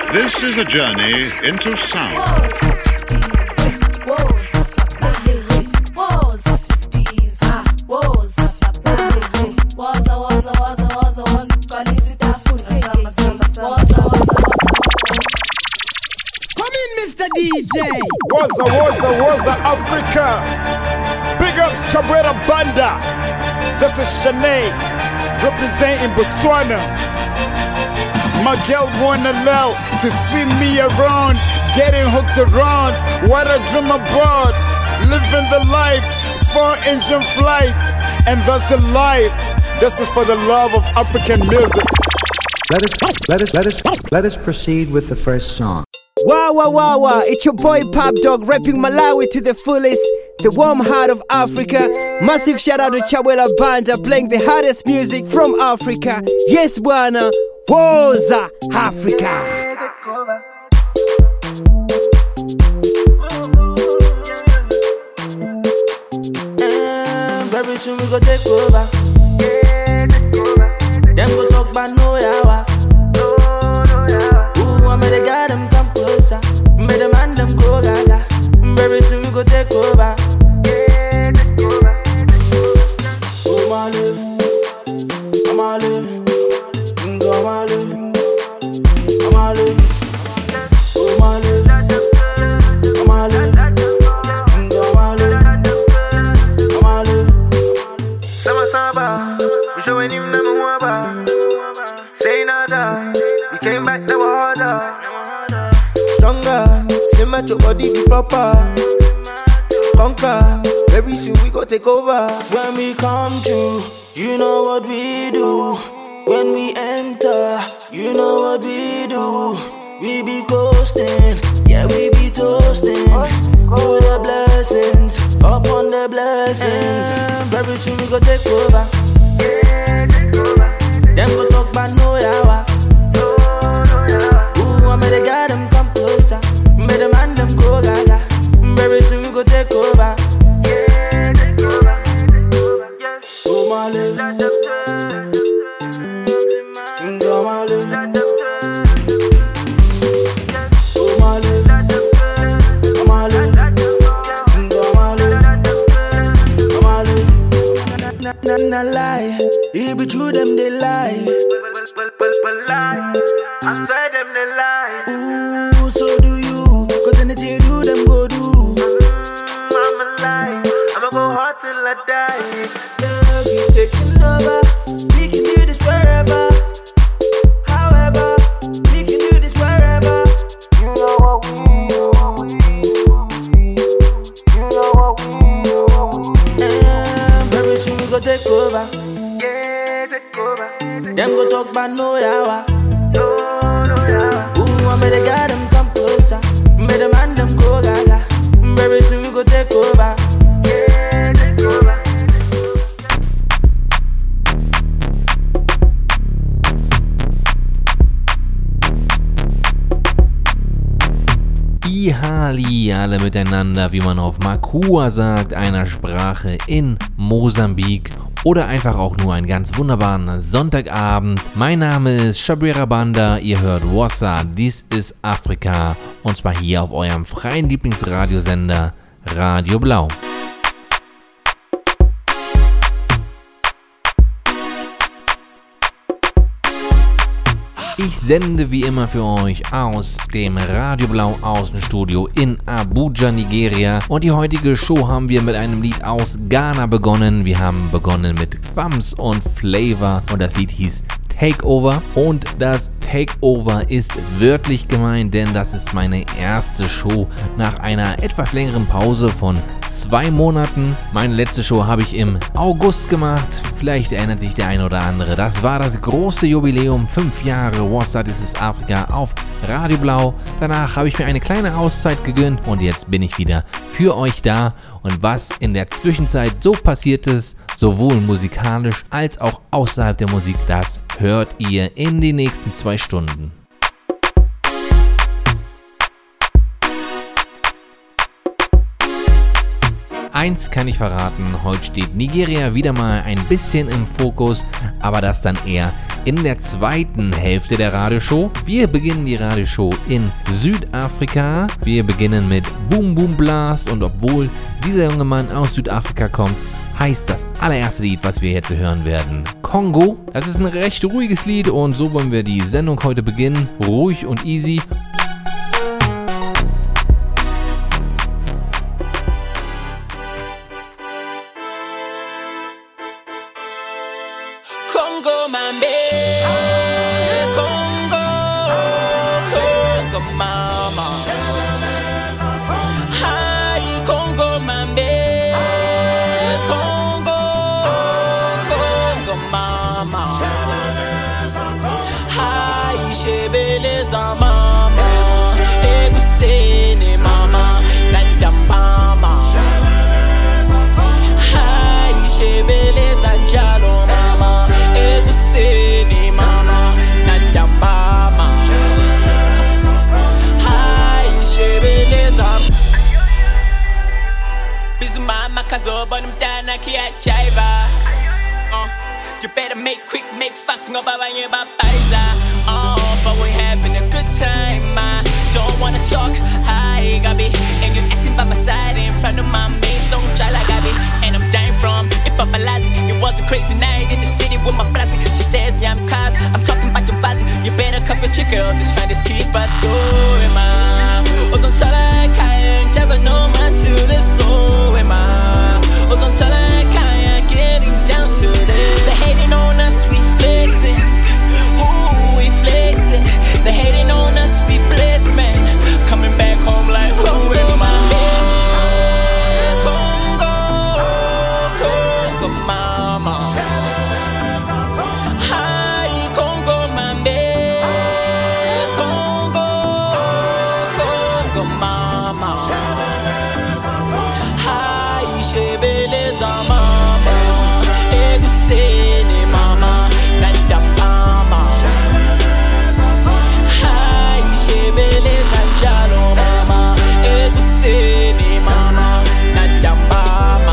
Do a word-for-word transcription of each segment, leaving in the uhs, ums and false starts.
This is a journey into sound. D J Waza, Waza, Waza, Africa. Big ups, Cabrera Banda. This is Shanae, representing Botswana. My girl wanna allow to see me around, getting hooked around. What I dream about, living the life, four engine flight, and that's the life. This is for the love of African music. Let us, let us, let us, let us proceed with the first song. Wow, wow, wow, wow, it's your boy Pop Dog rapping Malawi to the fullest, the warm heart of Africa. Massive shout out to Chawela Banda playing the hardest music from Africa. Yes, bwana, Waza, Africa. Um, very soon we go take over. Them go talk about no yawa. Ooh, I made a guy them come closer. Made a man them go gaga. Very soon we go take over. Oh Mali, Mali, go Mali, Mali, oh Mali, Mali, go Mali, Mali. Sama Saba, we showing him number one bar. Say nada, we came back never harder. Stronger, slim at your body be proper. Conquer, very soon we go take over. When we come through, you know what we do. When we enter, you know what we do. We be coasting, yeah we be toasting to the blessings, upon the blessings. Very soon we go take over. Them go talk about no yawa. Ooh, I made a guy them come closer. Made a man them go gaga. Very soon we go take over. Oh Mali, go Mali, oh Mali, Mali, go Mali, Mali. Na na na lie, it be true them they lie. Well, well, well, lie. I swear them they lie. Ooh, so do you? Cause anything you do, them go do. I'm a lie. I'ma go hard till I die. Yeah, we taking over. We can do this wherever. However, we can do this wherever. You know what we do. You know what we do. And very soon we go take over. Yeah, take over. Them go talk about no yawa. No, no, yeah. Ooh, I made a guy them come closer. Made a man them go gaga. Very soon we go take over. Yeah, take over. Ihali alle miteinander, wie man auf Makua sagt, einer Sprache in Mosambik. Oder einfach auch nur einen ganz wunderbaren Sonntagabend. Mein Name ist Cabrera Banda, ihr hört Waza, dies ist Afrika. Und zwar hier auf eurem freien Lieblingsradiosender Radio Blau. Ich sende wie immer für euch aus dem Radio Blau Außenstudio in Abuja, Nigeria. Und die heutige Show haben wir mit einem Lied aus Ghana begonnen. Wir haben begonnen mit Kwams und Flavor und das Lied hieß Takeover. Und das Takeover ist wörtlich gemeint, denn das ist meine erste Show nach einer etwas längeren Pause von zwei Monaten. Meine letzte Show habe ich im August gemacht. Vielleicht erinnert sich der ein oder andere. Das war das große Jubiläum, fünf Jahre Waza, dies ist Afrika auf Radio Blau. Danach habe ich mir eine kleine Auszeit gegönnt und jetzt bin ich wieder für euch da. Und was in der Zwischenzeit so passiert ist, sowohl musikalisch als auch außerhalb der Musik, das hört ihr in den nächsten zwei Stunden. Eins kann ich verraten, heute steht Nigeria wieder mal ein bisschen im Fokus, aber das dann eher in der zweiten Hälfte der Radioshow. Wir beginnen die Radioshow in Südafrika. Wir beginnen mit Boom Boom Blast und obwohl dieser junge Mann aus Südafrika kommt, heißt das allererste Lied, was wir jetzt hören werden, Kongo. Das ist ein recht ruhiges Lied und so wollen wir die Sendung heute beginnen. Ruhig und easy. Congo, my baby, Congo, Congo, mama. Hi, Congo, my baby, Congo, Congo, mama. Hi, Shebeleza, mama. Egusene, mama. Nadambama. Hi, Shebeleza, jalo, mama. Eguseni mama nadambama Hai shebeleza Bizu mama kazoba numdana kiachaiva uh, You better make quick, make fast ngoba banye bapaiza Oh, but we're having a good time I don't wanna talk, hi Gabi And you're asking by my side in front of my main song Chala Gabi And I'm dying from Ipapalazi It was a crazy night in the city with my brazi She says yeah I'm cause I'm talking about your vazi You better cover your girls It's fine, just keep us so am I Oh don't tell her I ain't never know man to this so am I Oh don't tell her I ain't getting down to this They hating on us, we flexing Ooh, we flexing They hating on us, we blessed man Coming back home like who am I? Congo, Congo mama Hi Congo mambe Congo, Congo mama Hi shebeleza mama Eguseni mama Nadambama Hi shebeleza njalo mama Eguseni mama Nadambama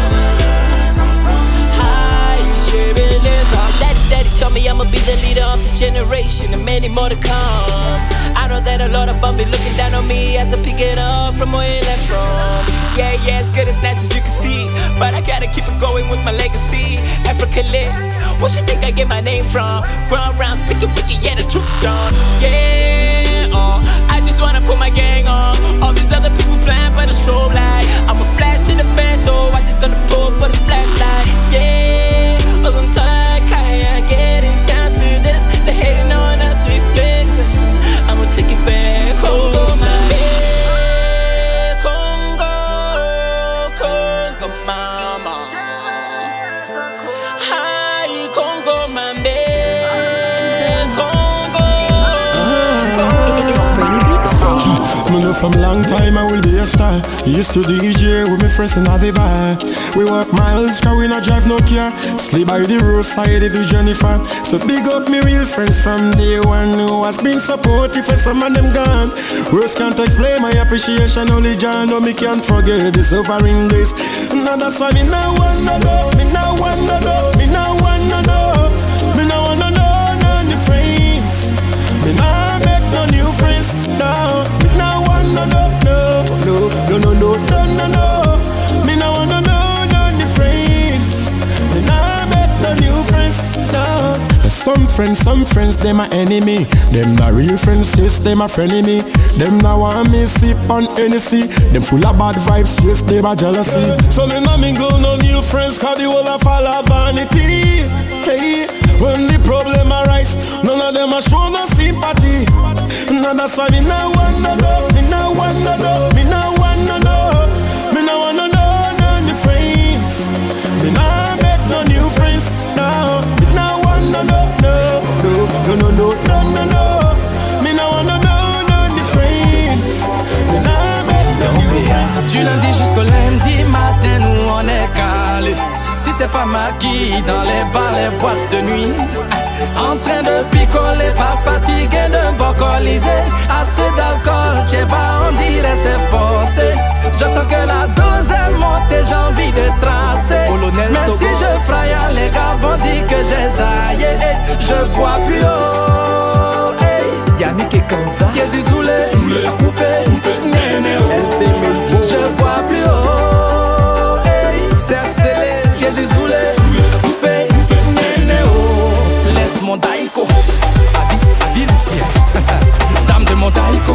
Hi shebeleza Daddy daddy told me I'ma be the leader of this generation And many more to come I know that a lot of them be looking down on me As I pick it up from where it left from Yeah, yeah, it's good, it's nice as you can see But I gotta keep it going with my legacy Africa lit, what you think I get my name from? Ground rounds, picky, picky, yeah, the truth done Yeah, uh, I just wanna put my gang on All these other people playing for the strobe light I'm a flash to the fan, so I just gonna pull for the flashlight Yeah, all I'm tired, I'm getting down to this They hating on us, we flexing I'ma take it back home Congo, Congo mama Hi Congo mambe Congo, Me know from long time I will be a star. Used to D J with me friends in the bar. We walk miles, cause we not drive no car. Sleep by the roadside if you journey far. So big up me real friends from day one who has been supportive for some of them gone. Words can't explain my appreciation, only John know me can't forget the suffering days. Now that's why me now wanna know, me now wanna know, me now wanna know, me now wanna know none of friends. Me now make no new friends, no. Me now wanna know, no, no, no, no, no, no, no, no. Me now wanna know none of friends. Me now make no new friends, no. Some friends, some friends, them my enemy. Them not real friends, yes, them a frenemy. Them now want me sip on Hennessy. Them full of bad vibes, yes, them a jealousy. So me nah mingle no new friends, cause the whole of all are vanity. Hey, when the problem arise, none of them a show no sympathy. Now that's why me now wanna know, me now wanna know, me now wanna know, me now wanna know none of friends. Me now make no new friends, no. Me now wanna know, no, no, no, no, no, no, no. Me now wanna know none of friends. Me now make no new friends. Du lundi jusqu'au lundi matin, nous on est calé. Si c'est pas maquille dans les bars, les boîtes de nuit. En train de picoler, pas fatigué de bocoliser. Assez d'alcool, j'ai pas, on dirait c'est forcé. Je sens que la dose est montée, j'ai envie de tracer. Même si je fraye à les gars vont dire que j'ai zaillé. Je bois plus haut. Yannick et Kanza. Yezi Soulé, Soulé, coupé, coupé, néné, oh. Je bois plus haut. Serge Célé, Yezi Soulé, Soulé, coupé, coupé, néné, oh. Laisse mon daïko. Adi, Adi Lucien. Dame de mon daïko.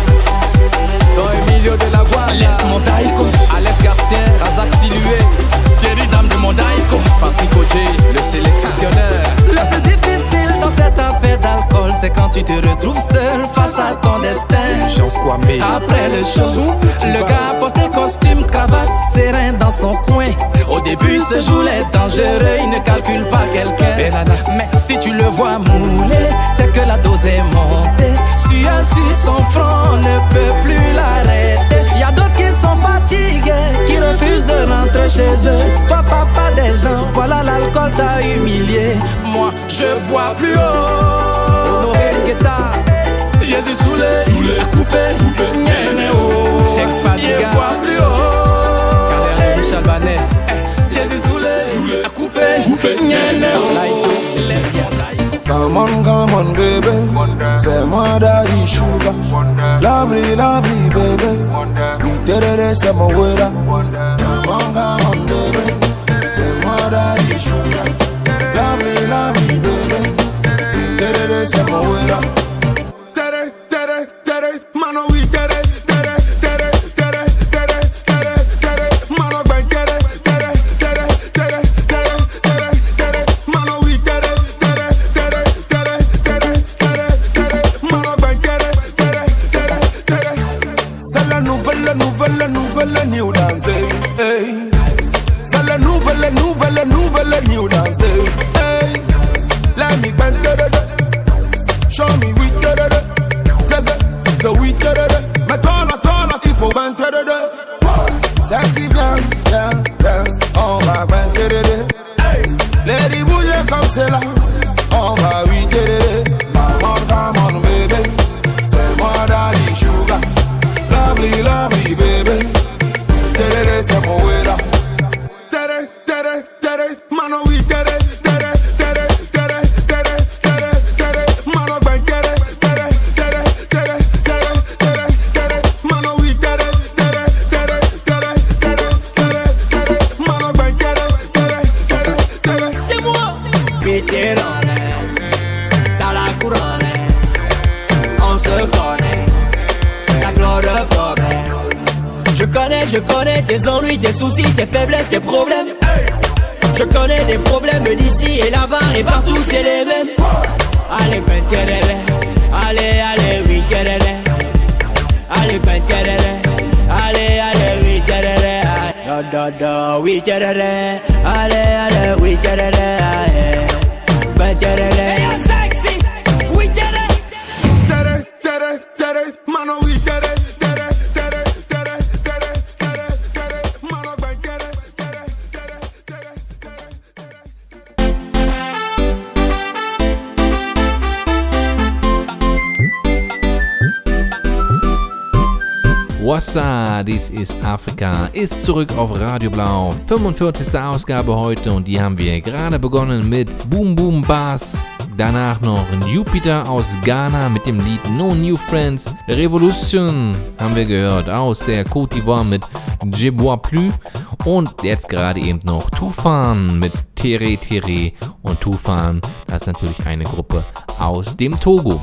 Dans Emilio de la Guardia. Laisse mon daïko. Alex Garcien, Razak Silué. Thierry, dame de mon daïko. Patrick Oje, le sélectionneur. Le plus difficile dans cette affaire d'alcool, c'est quand tu te retrouves seul face à ton destin. Après le show, le gars porté costume, cravate, serein dans son coin. Au début, ce jour est dangereux, il ne calcule pas quelqu'un. Mais si tu le vois mouler, c'est que la dose est montée. Sueur sur son front, on ne peut plus l'arrêter. Y'a d'autres qui sont fatigués, qui refusent de rentrer chez eux. Toi, papa des gens, voilà l'alcool t'a humilié. Moi, je bois plus haut. Honoré Guetta, Jésus Soulé, Soulé, coupé, coupé, néné, oh. Cheikh Fadiga, je bois plus haut. Kader Michel Banet, Jésus Soulé, Soulé, coupé, coupé, néné, oh. Come on, come on, baby. C'est moi daddy sugar. Lovely, lovely, baby. We did it, c'est mon wera. Come on, come on, baby. C'est moi daddy sugar. Lovely, lovely, baby. We did it, c'est mon wera. Tere, tere, tere, mano, we tere, tere, tere, tere, tere, tere, tere, mano, ben tere, tere, tere, tere, tere, tere, tere, mano, we tere, tere, tere, tere, tere, tere, tere, mano, ben tere, tere, tere, tere. C'est la nouvelle, nouvelle, nouvelle new dance, hey. C'est la nouvelle, nouvelle, nouvelle new dance, hey. Let me bend tere, show me we tere, so we tere, mais toi là, toi là, il faut ben tere, sexy bien, bien, bien, on va ben tere, lady bouger comme c'est là, on va oui tere, come on, come on baby, c'est moi daddy sugar, lovely, lovely baby, tere, c'est mon wera. Tere, tere, tere, mano, we tere, tere, tere, tere, tere, tere, tere, mano, ben tere, tere, tere, tere, tere, tere, tere, mano, we tere, tere, tere, tere, tere, tere, tere, mano, ben tere, tere, tere, tere. C'est moi. Pitiérone, t'as la couronne, on se connaît, y'a que le problème. Je connais, je connais tes ennuis, tes soucis, tes faiblesses, tes problèmes. Je connais des problèmes d'ici et là-bas et partout c'est les mêmes. Allez, ben terere, allez, allez, oui terere, allez, ben terere, allez, allez, oui terere, da da da, oui terere, allez, allez, oui terere, ben terere. Sexy, we tere, tere, tere, tere, mano, we tere, tere, tere, tere, tere, tere, tere, mano, ben tere, tere, tere, tere, Wassa, this is Africa, ist zurück auf Radio Blau. fünfundvierzigste Ausgabe heute und die haben wir gerade begonnen mit Boom Boom Bass. Danach noch Jupiter aus Ghana mit dem Lied No New Friends. Revolution haben wir gehört aus der Côte d'Ivoire mit Je Bois Plus. Und jetzt gerade eben noch Tufan mit Tere Tere. Und Tufan, das ist natürlich eine Gruppe aus dem Togo.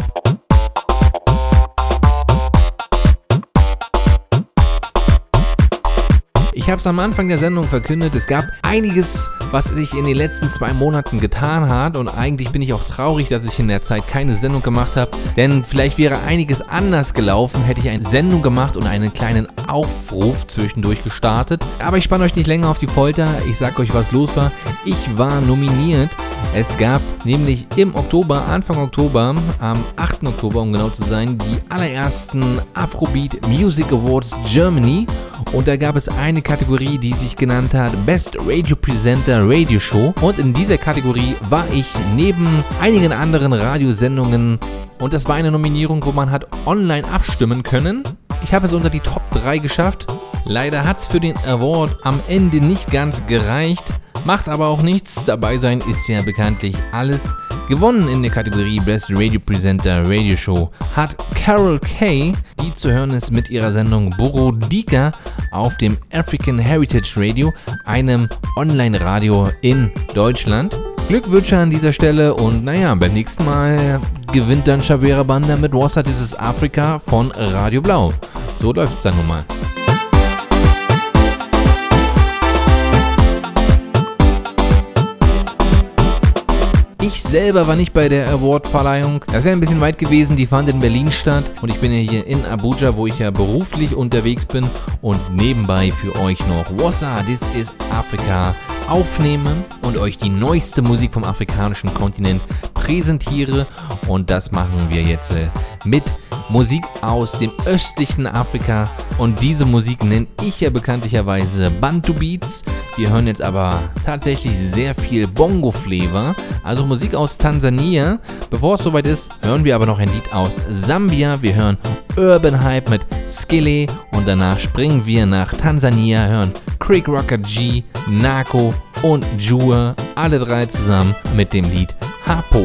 Ich habe es am Anfang der Sendung verkündet, es gab einiges, was sich in den letzten zwei Monaten getan hat und eigentlich bin ich auch traurig, dass ich in der Zeit keine Sendung gemacht habe, denn vielleicht wäre einiges anders gelaufen, hätte ich eine Sendung gemacht und einen kleinen Aufruf zwischendurch gestartet. Aber ich spanne euch nicht länger auf die Folter, ich sag euch, was los war. Ich war nominiert. Es gab nämlich im Oktober, Anfang Oktober, am achten Oktober, um genau zu sein, die allerersten Afrobeat Music Awards Germany. Und da gab es eine Kategorie, die sich genannt hat Best Radio Presenter Radio Show. Und in dieser Kategorie war ich neben einigen anderen Radiosendungen. Und das war eine Nominierung, wo man hat online abstimmen können. Ich habe es unter die Top drei geschafft. Leider hat es für den Award am Ende nicht ganz gereicht. Macht aber auch nichts, dabei sein ist ja bekanntlich alles. Gewonnen in der Kategorie Best Radio Presenter Radio Show hat Carol Kay, die zu hören ist mit ihrer Sendung Borodika auf dem African Heritage Radio, einem Online-Radio in Deutschland. Glückwünsche an dieser Stelle und naja, beim nächsten Mal gewinnt dann Chavera Banda mit Wassa This is Africa von Radio Blau. So läuft's dann nun mal. Ich selber war nicht bei der Award-Verleihung. Das wäre ein bisschen weit gewesen, die fand in Berlin statt. Und ich bin ja hier in Abuja, wo ich ja beruflich unterwegs bin und nebenbei für euch noch Wassa This is Africa aufnehme und euch die neueste Musik vom afrikanischen Kontinent präsentiere. Und das machen wir jetzt äh, mit Musik aus dem östlichen Afrika. Und diese Musik nenne ich ja bekanntlicherweise Bantu Beats. Wir hören jetzt aber tatsächlich sehr viel Bongo-Flavor, also Musik aus Tansania. Bevor es soweit ist, hören wir aber noch ein Lied aus Sambia. Wir hören Urban Hype mit Skille und danach springen wir nach Tansania, hören Craig Rocker G, Nako und Jua, alle drei zusammen mit dem Lied Hapo.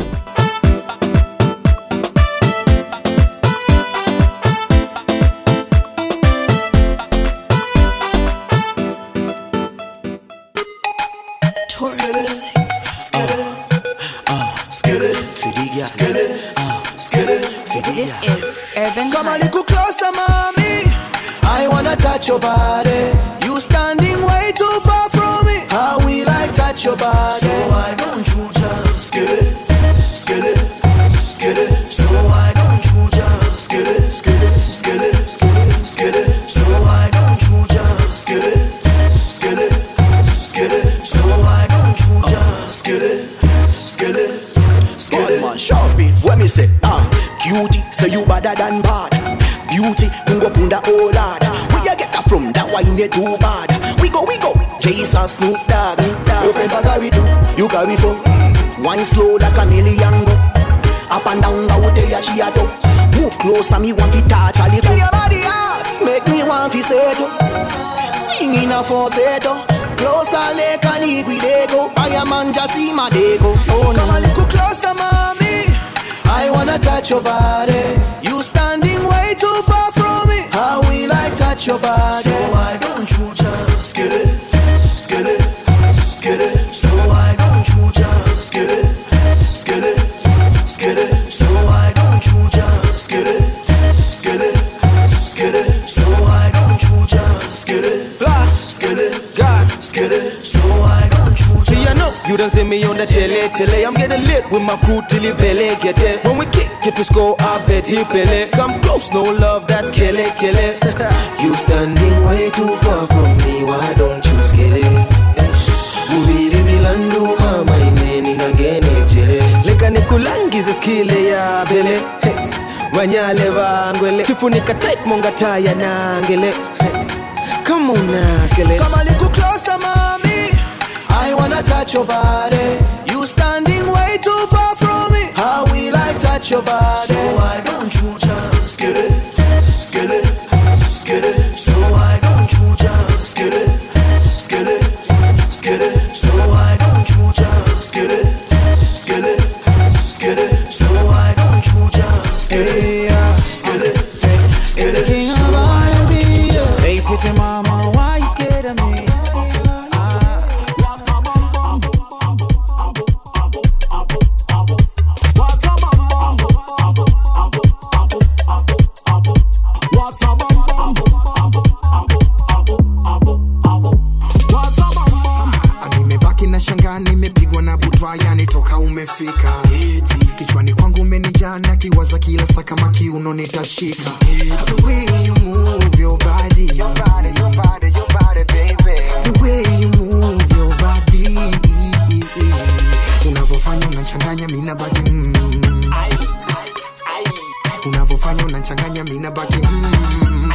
Come a little closer, mommy. I wanna touch your body. You standing way too far from me. How will I touch your body? So why don't you just get it, get it, get it? So why don't you just get it, get it, get it, get it? So why don't you just get it, get it, get it? So why don't you just get it, get it, get it? Man, sharp it. What me say? Ah, cutie, say you better than bad. Beauty, go punda oh lad. Where you get that from? That wine you too bad. We go, we go. Jason Snoop Dogg. Your friends are carry two, you carry four. Wine slow like a million go. Up and down, I would tell you she a do. Move closer, me want to touch a little. Your body hot, make me want to say to. Sing in a falsetto. Closer like an eagle. I am on just see my dego. Oh, come a little closer, mommy. I wanna touch your body. You standing way too far from me. How will I touch your body? So why don't you just get it, get it, get it? So why don't you just get it, get it, get it? So why don't you just get it, get it, get it? So why don't you just get it, get it, God, get it? So why don't you just? See, I know you don't see me on the tele, tele. I'm getting lit with my crew till the belly get it. When we kick it, we score, I bet he belly. Come close, no love, that's kill it, kill it. You standing way too far from me, why don't you scale it? Ubiri milandu mama imeni kagene chele. Leka nikulangize skile ya bele. Wanyale vangwele. Tifunika tight monga taya nangele. Come on now, skele. Come a little closer, mommy. I wanna touch your body. You standing way too far from me. How will I touch your body? So why don't you just get it, get it, get it? So why don't you just get it, get it, get it? So why don't you just get it, get it, get it? So why don't you just get it, get it, get it? So why don't you just? Hey, pretty mama, why you scared of me? Kichwani kwangu umenijana kiwaza kila saa kama kiuno nitashika. The way you move your body, your body, your body, your body, baby. The way you move your body, unavofanya unachanganya mina baki mm. Unavofanya unachanganya mina baki mm.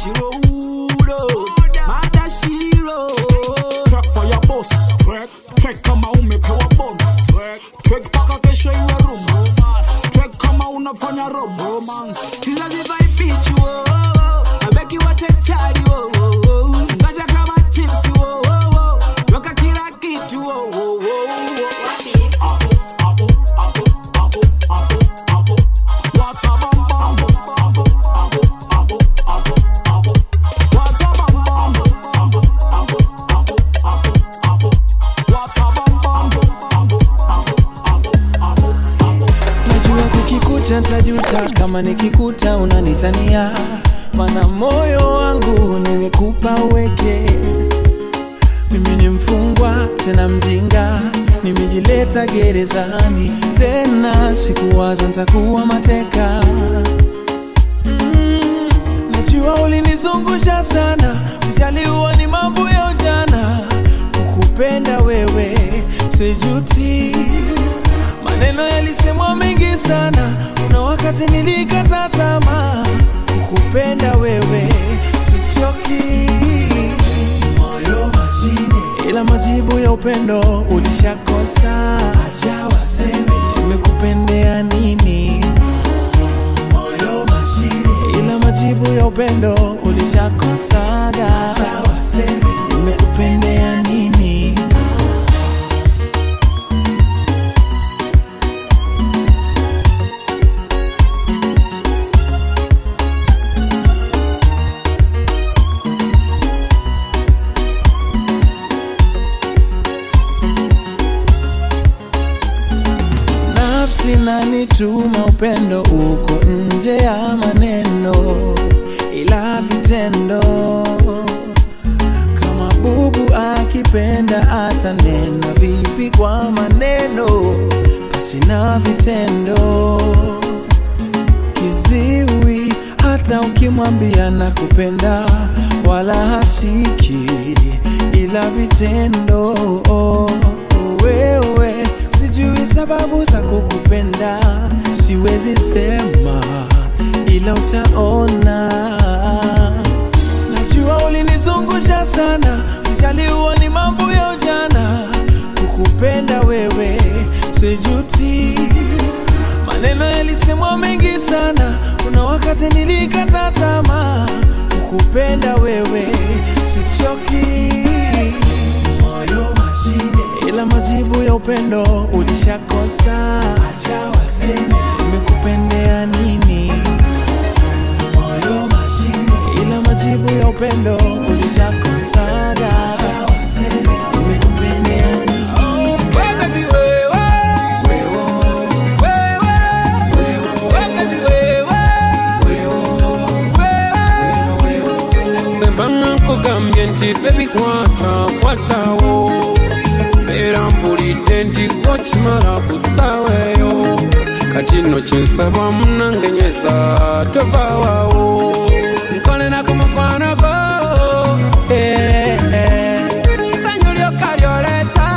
Shiro Udo, Mada Shiro. Track for your boss. Track, track kama umepewa bonus. Track paka kesho iwe rumors. Track kama unafanya romance. Kila ziva ipichu, oh, oh. Abeki wate chadi, oh, oh, oh. Ngaja kama chipsi, oh, oh, oh. Yoka kila kitu, oh, oh, oh. Apo, apo, apo, apo, apo, apo. Wata bam bam. Apo, apo, apo, apo, apo. Wata bam bam. Apo, apo, apo, apo, apo. Wata bam bam. Apo, apo, apo, apo, apo. Najua kukikuta ntajuta kama nikikuta unanitania, mana moyo wangu nimekupa uweke. Mimi ni mfungwa tena mjinga, nimejileta gerezani tena, sikuwaza nitakuwa mateka. mm, Najua ulinizungusha sana, ujaliwa ni mambo ya ujana. Kukupenda wewe sijuti, maneno yalisemwa mengi sana, kuna wakati nilikata tamaa. Kukupenda wewe sichoki, moyo mashine, ila majibu ya upendo ulishakosa. Acha waseme nimekupendea nini, moyo mashine, ila majibu ya upendo ulishakosa. Acha waseme nimekupendea nini. Sinanituma upendo uko nje ya maneno, ila vitendo. Kama bubu akipenda atanena vipi kwa maneno, basi na vitendo. Kiziwi hata ukimwambia nakupenda wala hasiki, ila vitendo. Wewe sijui sababu za kukupenda, siwezi sema ila utaona. Najua ulinizungusha sana, sijaliwa ni mambo ya ujana. Kukupenda wewe sijuti, maneno yalisemwa mengi sana, kuna wakati nilikata tamaa. Kukupenda wewe sichoki, moyo mashine, ila majibu ya upendo ulishakosa. Acha waseme nimekupendea nini, moyo mashine, ila majibu ya upendo ulishakosa. Acha waseme nimekupendea nini. Oh, baby, wewe, wewe, wewe, wewe, baby, wewe, wewe, wewe. Bembana kugambye nti baby kwata kwatawo, era mpulidde nti kokimala kusaweyo. Kati nno kyensaba munange nyweza tovaawo, nkolera ku mukwano gwo, eh, eh. Sanyu lyokka lyoleeta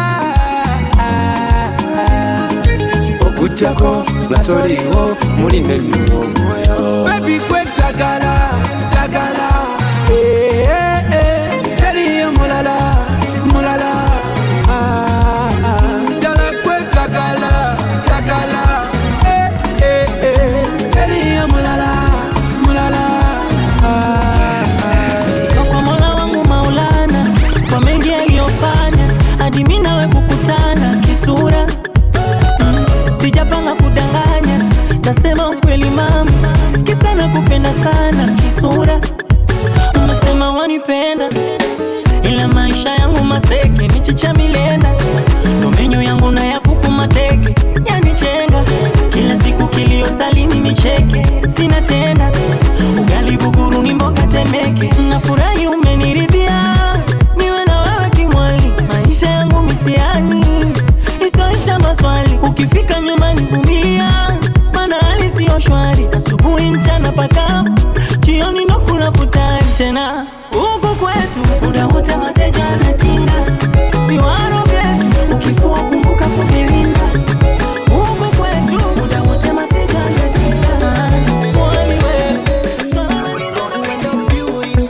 okujjako nga toliiwo muli nennuwo omwoyo. Baby gwe ddagala ddagala, eh, eh, eh. Teriyo mulala mulala, ah, ah. Ddala gwe ddagala ddagala, eh, eh, eh. Teriyo mulala mulala, ah, ah. Sika kwa Mola wangu Maulana, kwa mengi aliyofanya hadi mimi nawe kukutana kisura. mm, Sijapanga kudanganya, nasema ukweli mama, kisa nakupenda sana kisura. Unasema wanipenda, ila maisha yangu maseke, michicha milenda, domenyo yangu na ya kuku mateke, yanichenga kila siku kilio salini nicheke, sina tenda ugali buguru ni mboga temeke. Nafurahi umeniridhia, niwe na wewe kimwali, maisha yangu mitiani isoisha maswali. Ukifika nyumbani vumilia, mana hali sio shwari, asubuhi mchana pakavu, jioni ndo kuna futari tena. Huku kwetu muda wote mateja anatinga, viwaro vyetu ukifua kumbuka kuvilinda. Huku kwetu muda wote mateja anatinga, mwani wewe.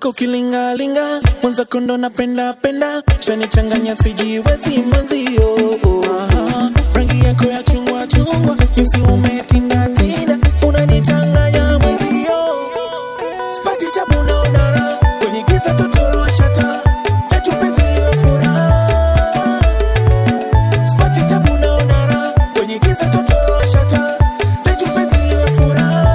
yako kilingalinga, mwanza kondo napenda penda, chanichanganya sijiwezi mwenzio. Aha, rangi yako ya chungwa chungwa, yusi umetinda tinda, unanichanganya mwenzio. Spati tabu naonara, kwenye giza totoro shata, letu penzi liwe furaha. Spati tabu naonara, kwenye giza totoro shata, letu penzi liwe furaha.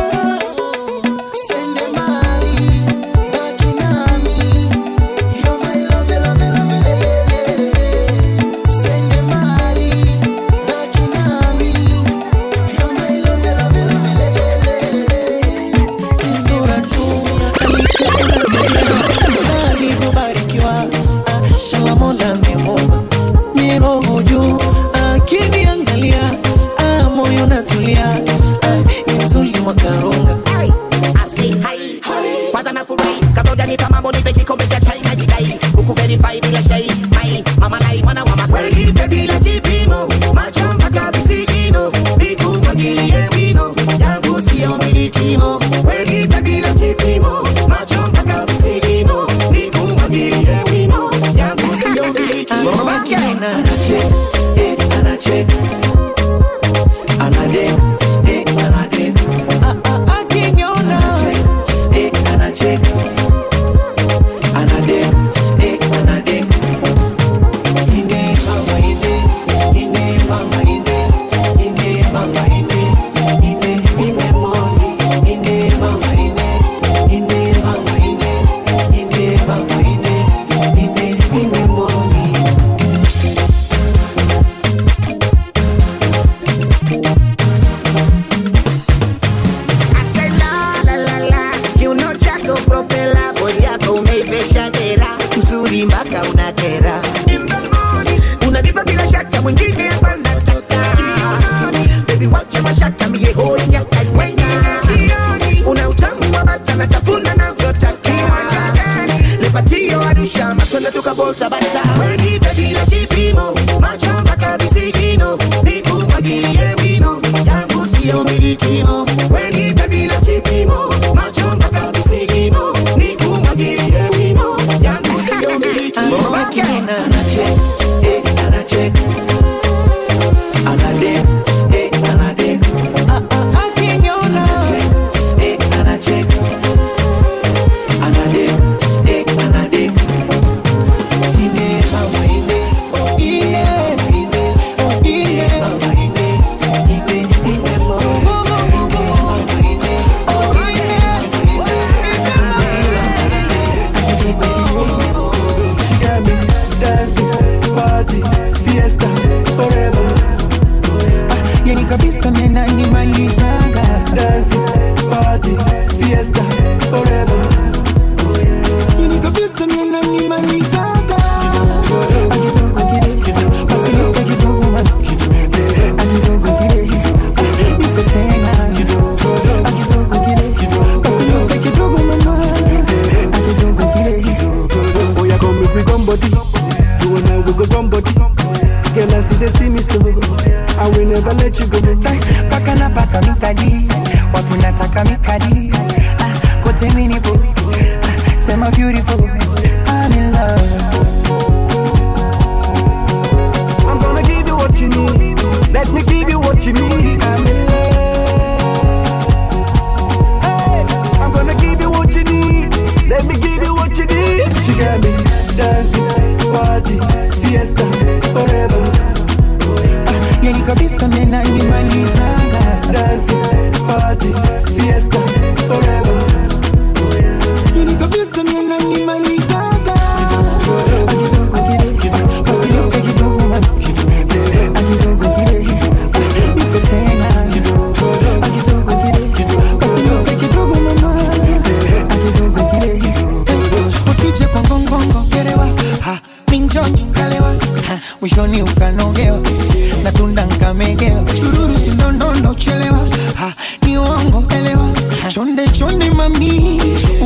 Mwishoni ukanogewa na tunda nkamegewa, chururu sindondondo chelewa, ha, ni uongo elewa, chonde chonde mami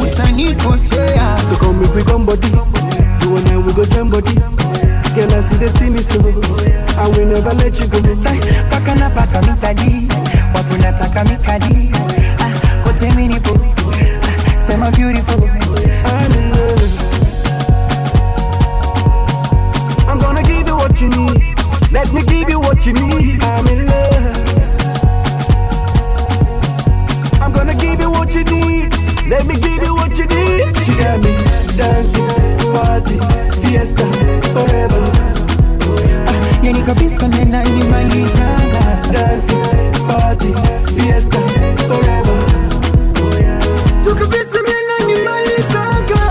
utanikosea. So come make we come body, you and I we go jam body. Girl I see they see me so, I will never let you go. Paka napata mikadi, watu nataka mikadi, ah, kote minipo, ah, say my beautiful. I'm in love. I'm gonna give you what you need. Let me give you what you need. I'm in love. I'm gonna give you what you need. Let me give you what you need. She got me dancing, party, fiesta, forever. Yani kabisa nena inimalizanga. Dancing, party, fiesta, forever. Tu kabisa nena inimalizanga.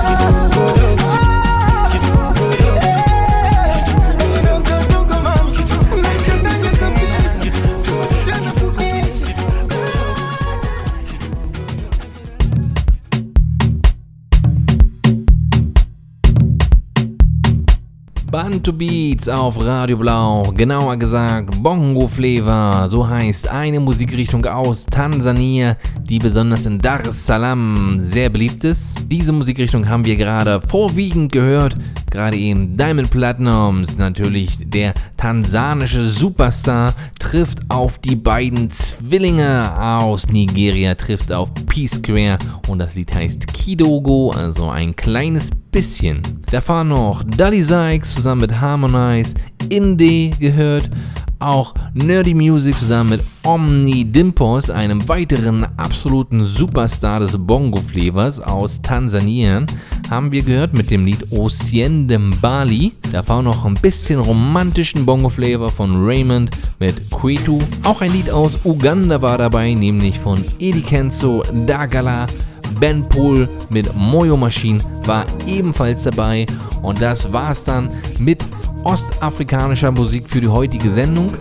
Bantu Beats auf Radio Blau, genauer gesagt Bongo Flava, so heißt eine Musikrichtung aus Tansania, die besonders in Dar es Salaam sehr beliebt ist. Diese Musikrichtung haben wir gerade vorwiegend gehört, gerade eben Diamond Platnumz, natürlich der tansanische Superstar, trifft auf die beiden Zwillinge aus Nigeria, trifft auf P-Square und das Lied heißt Kidogo, also ein kleines bisschen. Da fahren noch Dully Sykes zusammen mit Harmonize, Indie gehört, auch Nerdy Music zusammen mit Omni Dimpos, einem weiteren absoluten Superstar des Bongo-Flavors aus Tansania, haben wir gehört mit dem Lied Osiende Mbali. Da war noch ein bisschen romantischen Bongo-Flavor von Raymond mit Kwetu. Auch ein Lied aus Uganda war dabei, nämlich von Eddie Kenzo, Dagala. Ben Pol mit Moyo Machine war ebenfalls dabei und das war's dann mit ostafrikanischer Musik für die heutige Sendung.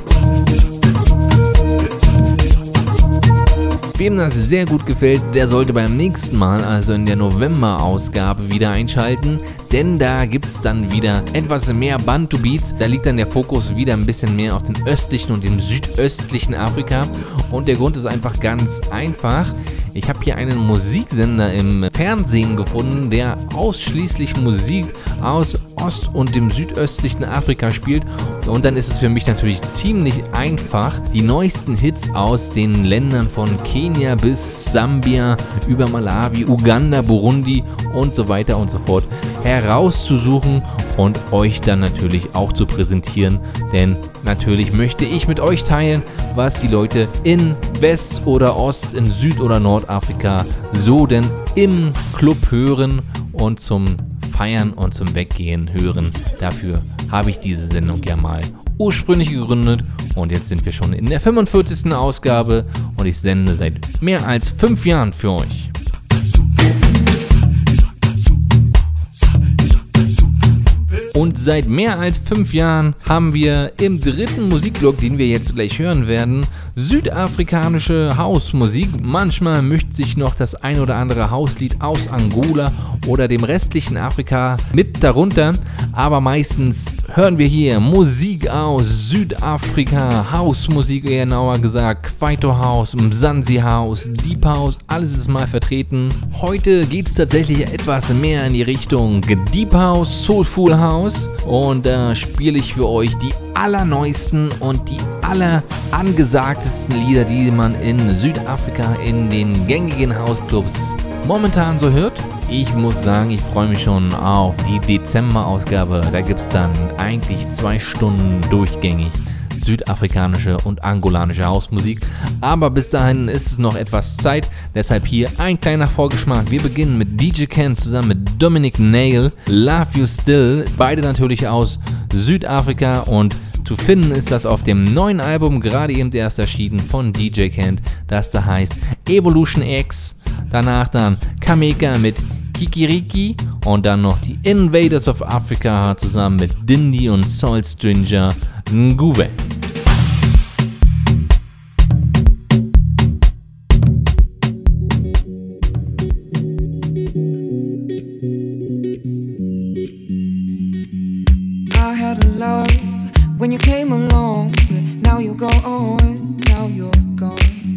Wem das sehr gut gefällt, der sollte beim nächsten Mal, also in der November-Ausgabe, wieder einschalten, denn da gibt es dann wieder etwas mehr Bantu Beats. Da liegt dann der Fokus wieder ein bisschen mehr auf dem östlichen und dem südöstlichen Afrika und der Grund ist einfach ganz einfach. Ich habe hier einen Musiksender im Fernsehen gefunden, der ausschließlich Musik aus Ost- und dem südöstlichen Afrika spielt. Und dann ist es für mich natürlich ziemlich einfach, die neuesten Hits aus den Ländern von Kenia bis Sambia, über Malawi, Uganda, Burundi und so weiter und so fort herauszusuchen und euch dann natürlich auch zu präsentieren. Denn natürlich möchte ich mit euch teilen, was die Leute in West oder Ost, in Süd- oder Nordafrika so denn im Club hören und zum Feiern und zum Weggehen hören. Dafür habe ich diese Sendung ja mal ursprünglich gegründet und jetzt sind wir schon in der fünfundvierzigsten Ausgabe und ich sende seit mehr als fünf Jahren für euch. Und seit mehr als fünf Jahren haben wir im dritten Musikblock, den wir jetzt gleich hören werden, südafrikanische Hausmusik. Manchmal mischt sich noch das ein oder andere Hauslied aus Angola oder dem restlichen Afrika mit darunter. Aber meistens hören wir hier Musik aus Südafrika, Hausmusik genauer gesagt, Kwaito House, Mzansi House, Deep House, alles ist mal vertreten. Heute geht es tatsächlich etwas mehr in die Richtung Deep House, Soulful House. Und da äh, spiele ich für euch die allerneuesten und die allerangesagtesten Lieder, die man in Südafrika in den gängigen Hausclubs momentan so hört. Ich muss sagen, ich freue mich schon auf die Dezember-Ausgabe. Da gibt es dann eigentlich zwei Stunden durchgängig südafrikanische und angolanische Hausmusik. Aber bis dahin ist es noch etwas Zeit. Deshalb hier ein kleiner Vorgeschmack. Wir beginnen mit D J Ken zusammen mit Dominic Nail, Love You Still. Beide natürlich aus Südafrika und zu finden ist das auf dem neuen Album, gerade eben erst erschienen von D J Ken, das da heißt Evolution X. Danach dann Kameka mit Kikiriki und dann noch die Invaders of Africa zusammen mit Dindi und Soul Stranger Nguwe. I had a love when you came along, now you're gone, now you're gone.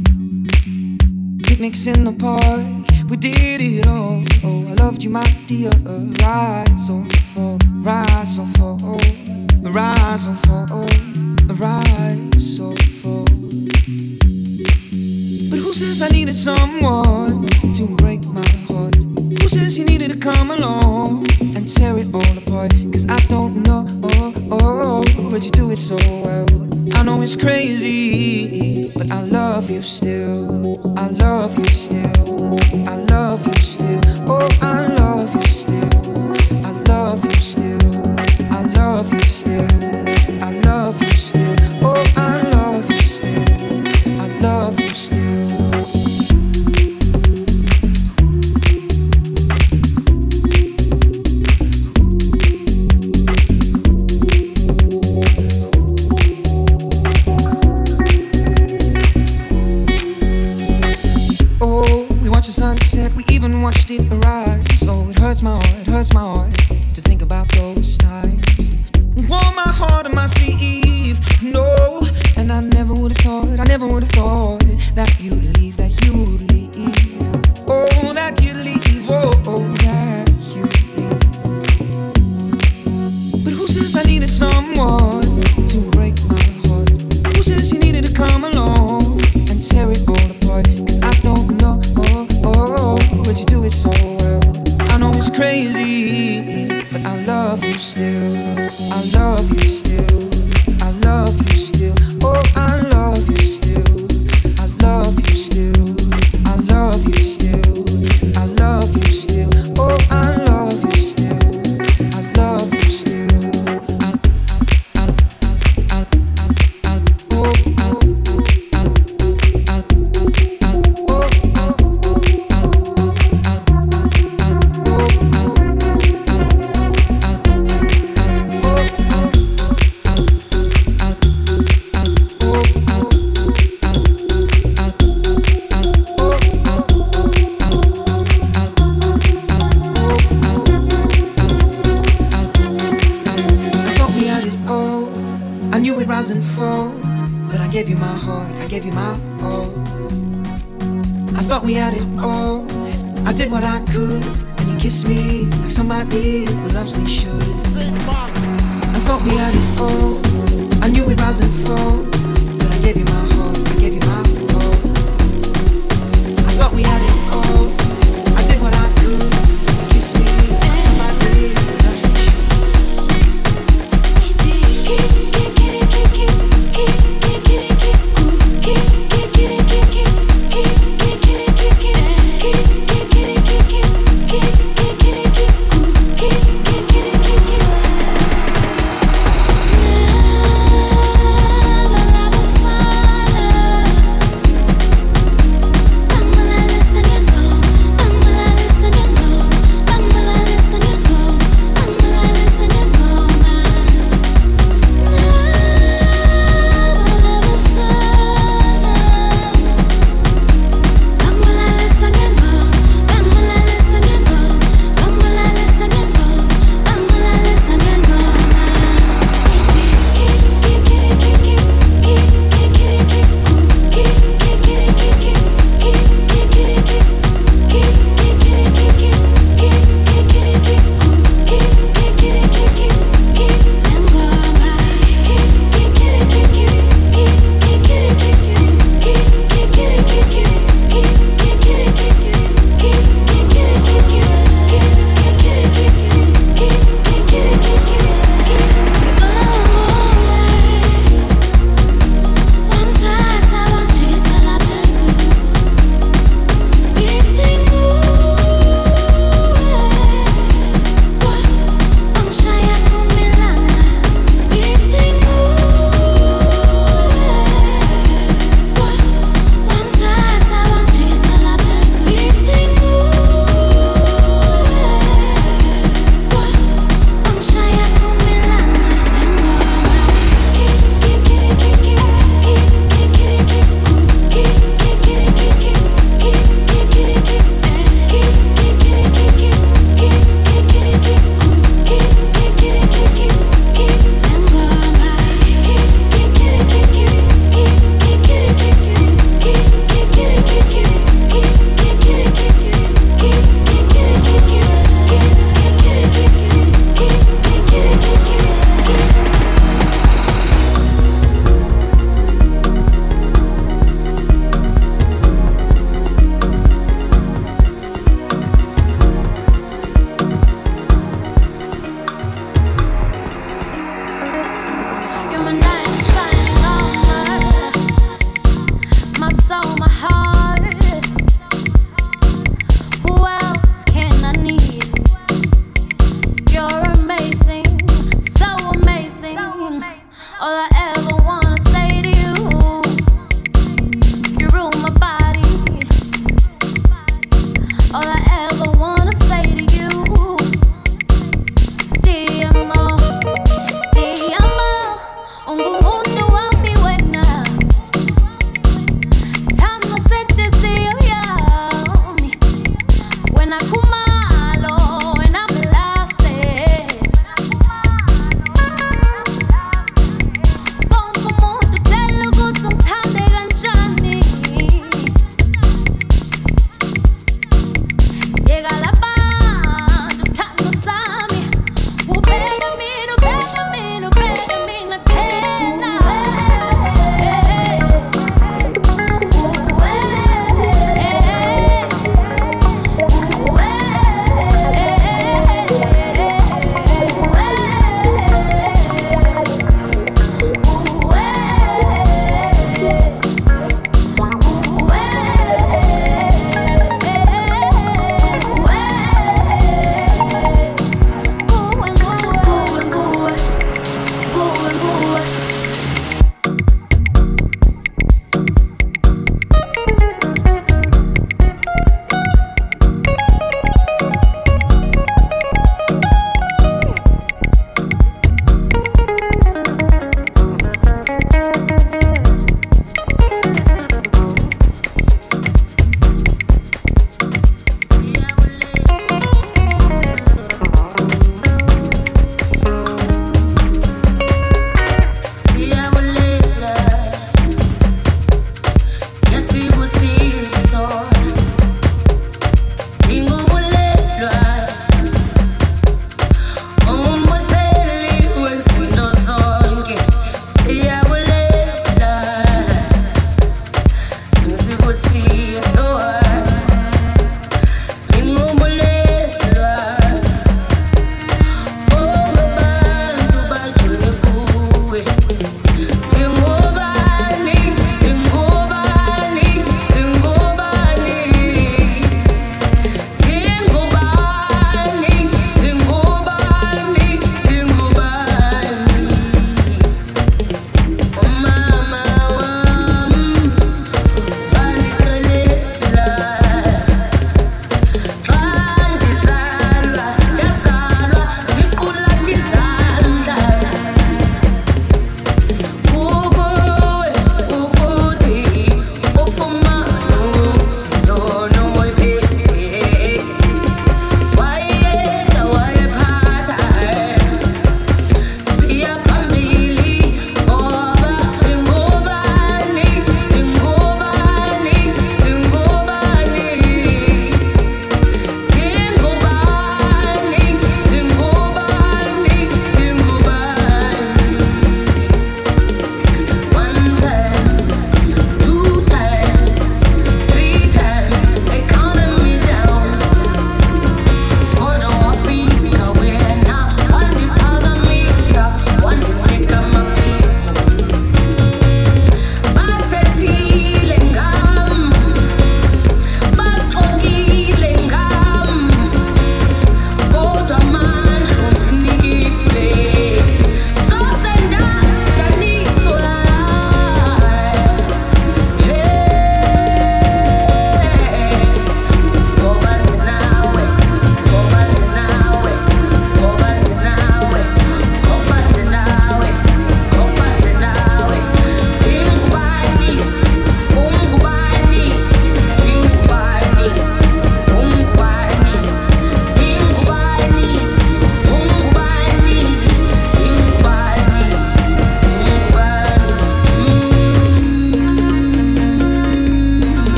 Picnics in the park, we did it all. Oh, I loved you, my dear. Rise or fall, rise or fall, rise or fall, rise or fall. But who says I needed someone to break my heart? who says you needed to come along and tear it all apart? Cause I don't know, oh, oh, but you do it so well. I know it's crazy, but I love you still. I love you still. I love you still. Oh, I love you still. I love you still. I love you still. I love you still. Oh, I love you still. I love you still. Sunset, we even watched it arise. Oh, it hurts my heart, it hurts my heart to think about those times. Wore my heart on my sleeve, no, and I never would have thought, I never would have thought that you'd leave, that you'd leave. Oh, that you'd leave, oh, oh, that you'd leave. But who says I needed someone to break my heart? Who says you needed to come along and tear it all apart? Cause I don't know, oh, oh, but you do it so well. I know it's crazy, but I love you still. I love you still. I love you still. Oh, I love you still. I love you still. I love you still. I love you still. Oh, I love you still. I love you still. I, I, I, I, I, I, oh, I, I, I, I, I, oh, rise and fall, but I gave you my heart, I gave you my all. I thought we had it all, I did what I could, and you kissed me like somebody who loves me should. I thought we had it all, I knew we'd rise and fall, but I gave you my heart, I gave you my all. I thought we had it all, I did what I could, and you kissed me like somebody who loves me should. Listen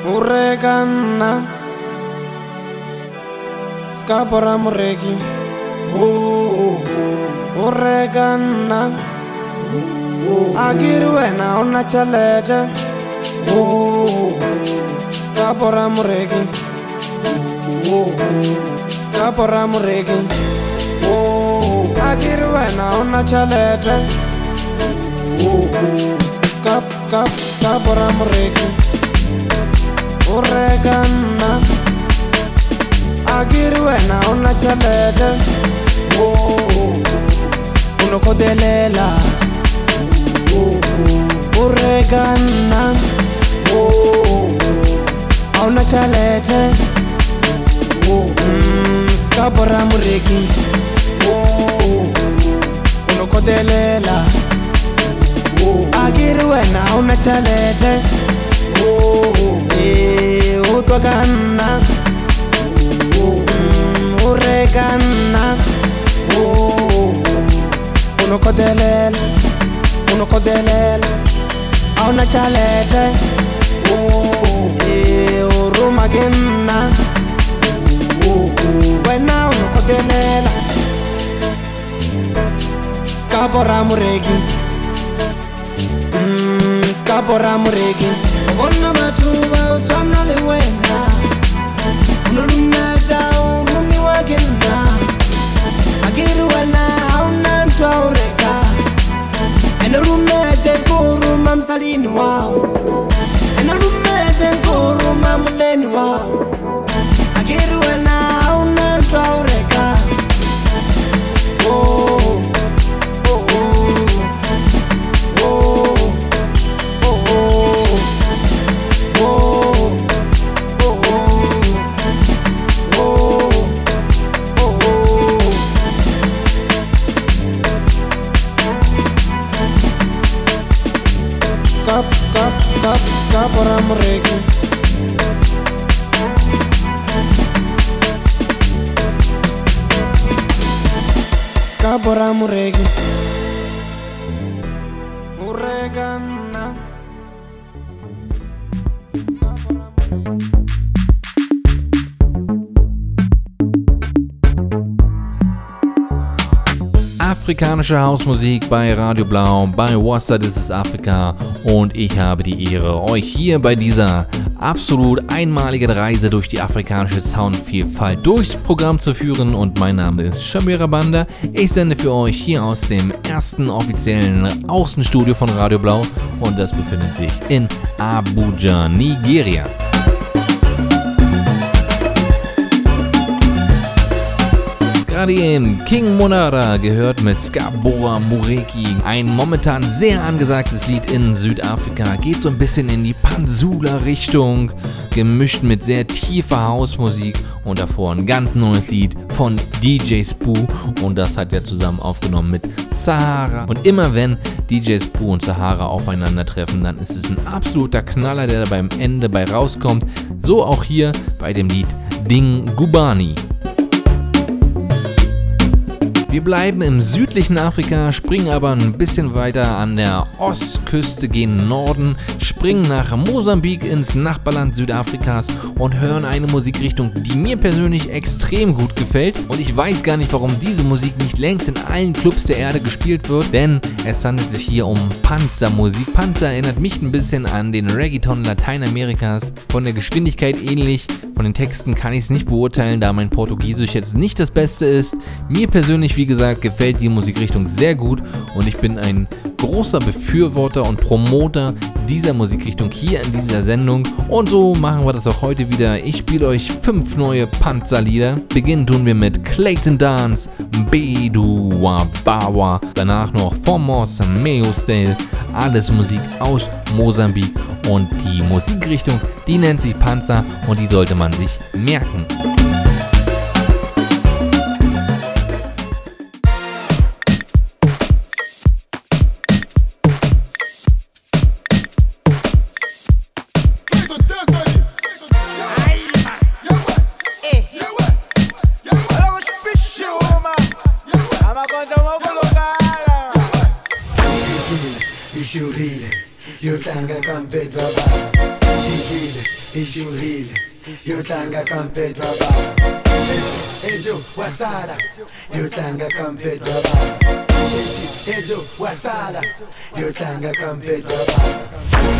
Urekana Skapora mureki Urekana Agiruena ona chalete Skapora mureki Skapora mureki Agiruena ona chalete Skap, skap, skapora mureki Urekana Agiruena ona chalete Unokodelela Urekana Ona chalete Skapora mureki Unokodelela Agiruena ona chalete Utwakana Urekana Unokodelela Unokodelela Auna chalete Urumagena Wena unokodelela Skapora mureki Skapora mureki Ona matuba utana lewena Unurumeta urumi wagena Agiruana auna ntuaureka Enurumete nkuruma msalini wao Enurumete nkuruma muneni wao Agiruana auna ntuaureka Oh, oh, oh, oh, oh, oh, oh, Skap, skap, skap, skapora mureki Skapora mureki Urekana Afrikanische Hausmusik bei Radio Blau, bei Wassa, das ist Afrika, und ich habe die Ehre, euch hier bei dieser absolut einmaligen Reise durch die afrikanische Soundvielfalt durchs Programm zu führen, und mein Name ist Shabira Banda. Ich sende für euch hier aus dem ersten offiziellen Außenstudio von Radio Blau, und das befindet sich in Abuja, Nigeria. Gerade eben King Monara gehört mit Skapora Mureki. Ein momentan sehr angesagtes Lied in Südafrika. Geht so ein bisschen in die Panzula-Richtung, gemischt mit sehr tiefer Hausmusik. Und davor ein ganz neues Lied von D J Spoo. Und das hat er zusammen aufgenommen mit Sahara. Und immer wenn D J Spoo und Sahara aufeinandertreffen, dann ist es ein absoluter Knaller, der da beim Ende bei rauskommt. So auch hier bei dem Lied Dingubani. Wir bleiben im südlichen Afrika, springen aber ein bisschen weiter an der Ostküste, gehen Norden, springen nach Mosambik ins Nachbarland Südafrikas und hören eine Musikrichtung, die mir persönlich extrem gut gefällt. Und ich weiß gar nicht, warum diese Musik nicht längst in allen Clubs der Erde gespielt wird, denn es handelt sich hier um Panzermusik. Panzer erinnert mich ein bisschen an den Reggaeton Lateinamerikas, von der Geschwindigkeit ähnlich. Von den Texten kann ich es nicht beurteilen, da mein Portugiesisch jetzt nicht das Beste ist. Mir persönlich, wie gesagt, gefällt die Musikrichtung sehr gut, und ich bin ein großer Befürworter und Promoter dieser Musikrichtung hier in dieser Sendung. Und so machen wir das auch heute wieder. Ich spiele euch fünf neue Panzerlieder. Beginnen tun wir mit Clayton Dance, Bedu Wabawa, danach noch Formos, Meostale, alles Musik aus Mosambik, und die Musikrichtung, die nennt sich Panzer, und die sollte man sich merken. Yotanga kampet baba, digile, ishurile yotlanga kampedwa baba ejo wasala yotlanga kampedwa baba ejo wasala yotlanga kampedwa baba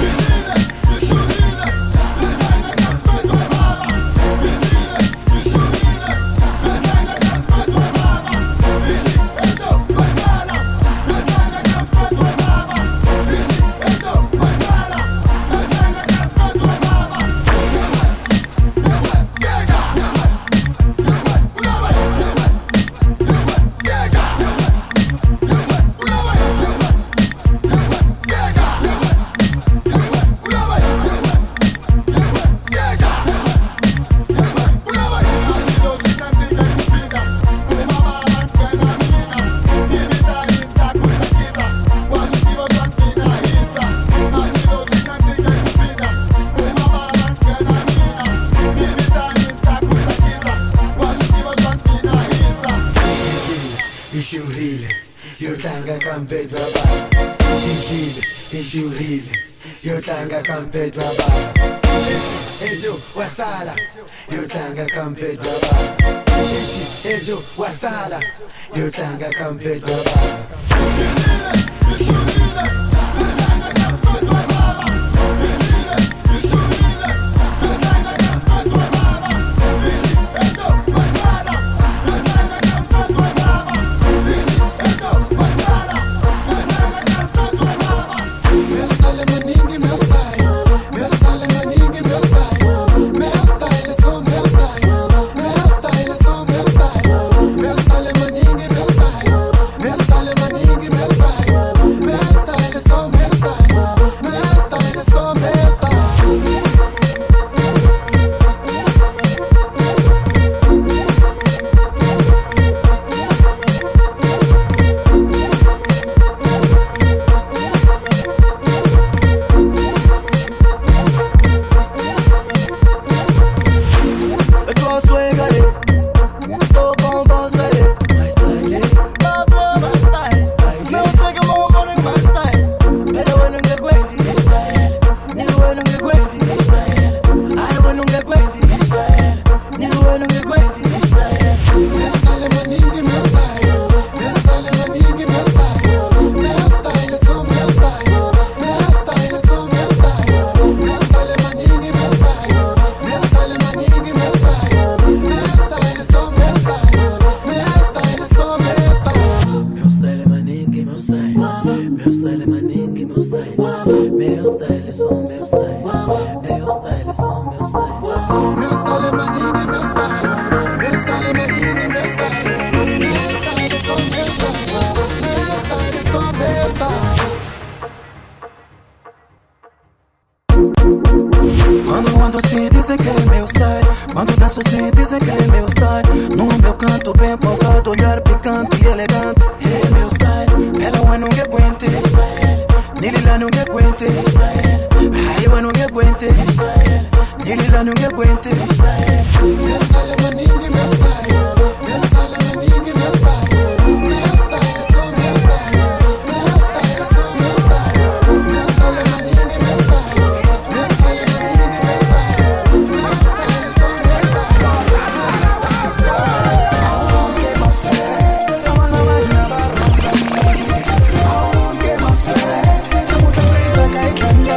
yotlanga kampedwa baba ejo wasala yotlanga kampedwa baba ejo wasala yotlanga kampedwa baba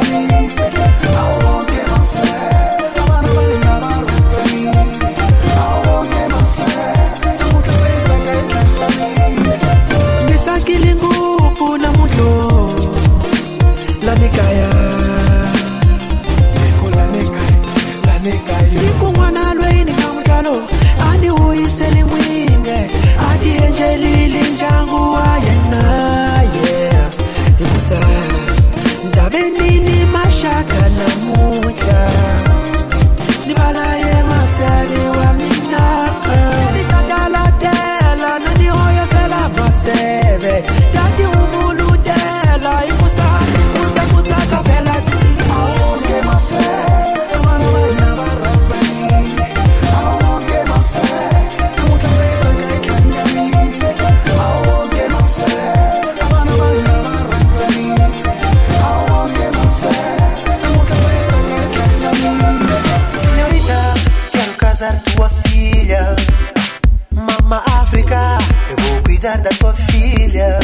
Oh casar tua filha. Mama África, eu vou cuidar da tua filha.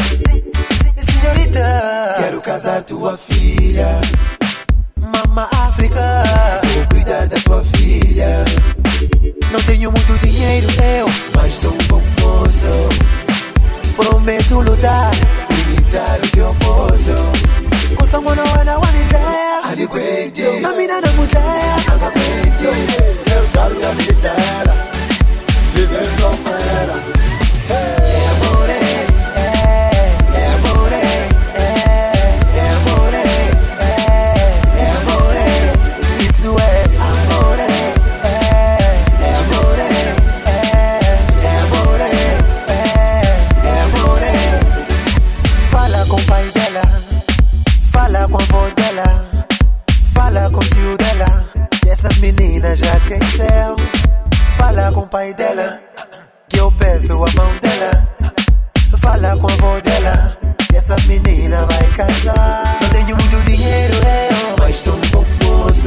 Senhorita, quero casar tua filha. Mama África, vou cuidar da tua filha. Não tenho muito dinheiro eu, mas sou um bom moço. Prometo lutar e me dar o que eu posso. Com someone I wanna want it there. Adequate, na mina na mulher. Adequate, eu quero a vida dela. Viver só pra ela. É amore, é, é amore, é, é amore, é, é amore. Isso é amore, é, é amore, é, é amore, é, é amore. Fala com o pai dela, fala com a avó dela, fala com o tio dela, que essa menina já cresceu. Fala com o pai dela, que eu peço a mão dela. Fala com a avó dela, que essa menina vai casar. Não tenho muito dinheiro eu, mas sou um bom moço.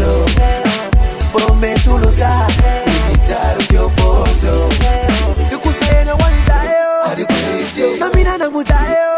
Prometo lutar e me dar o que eu posso. Eu custei na wanita eu, na mina na muda eu.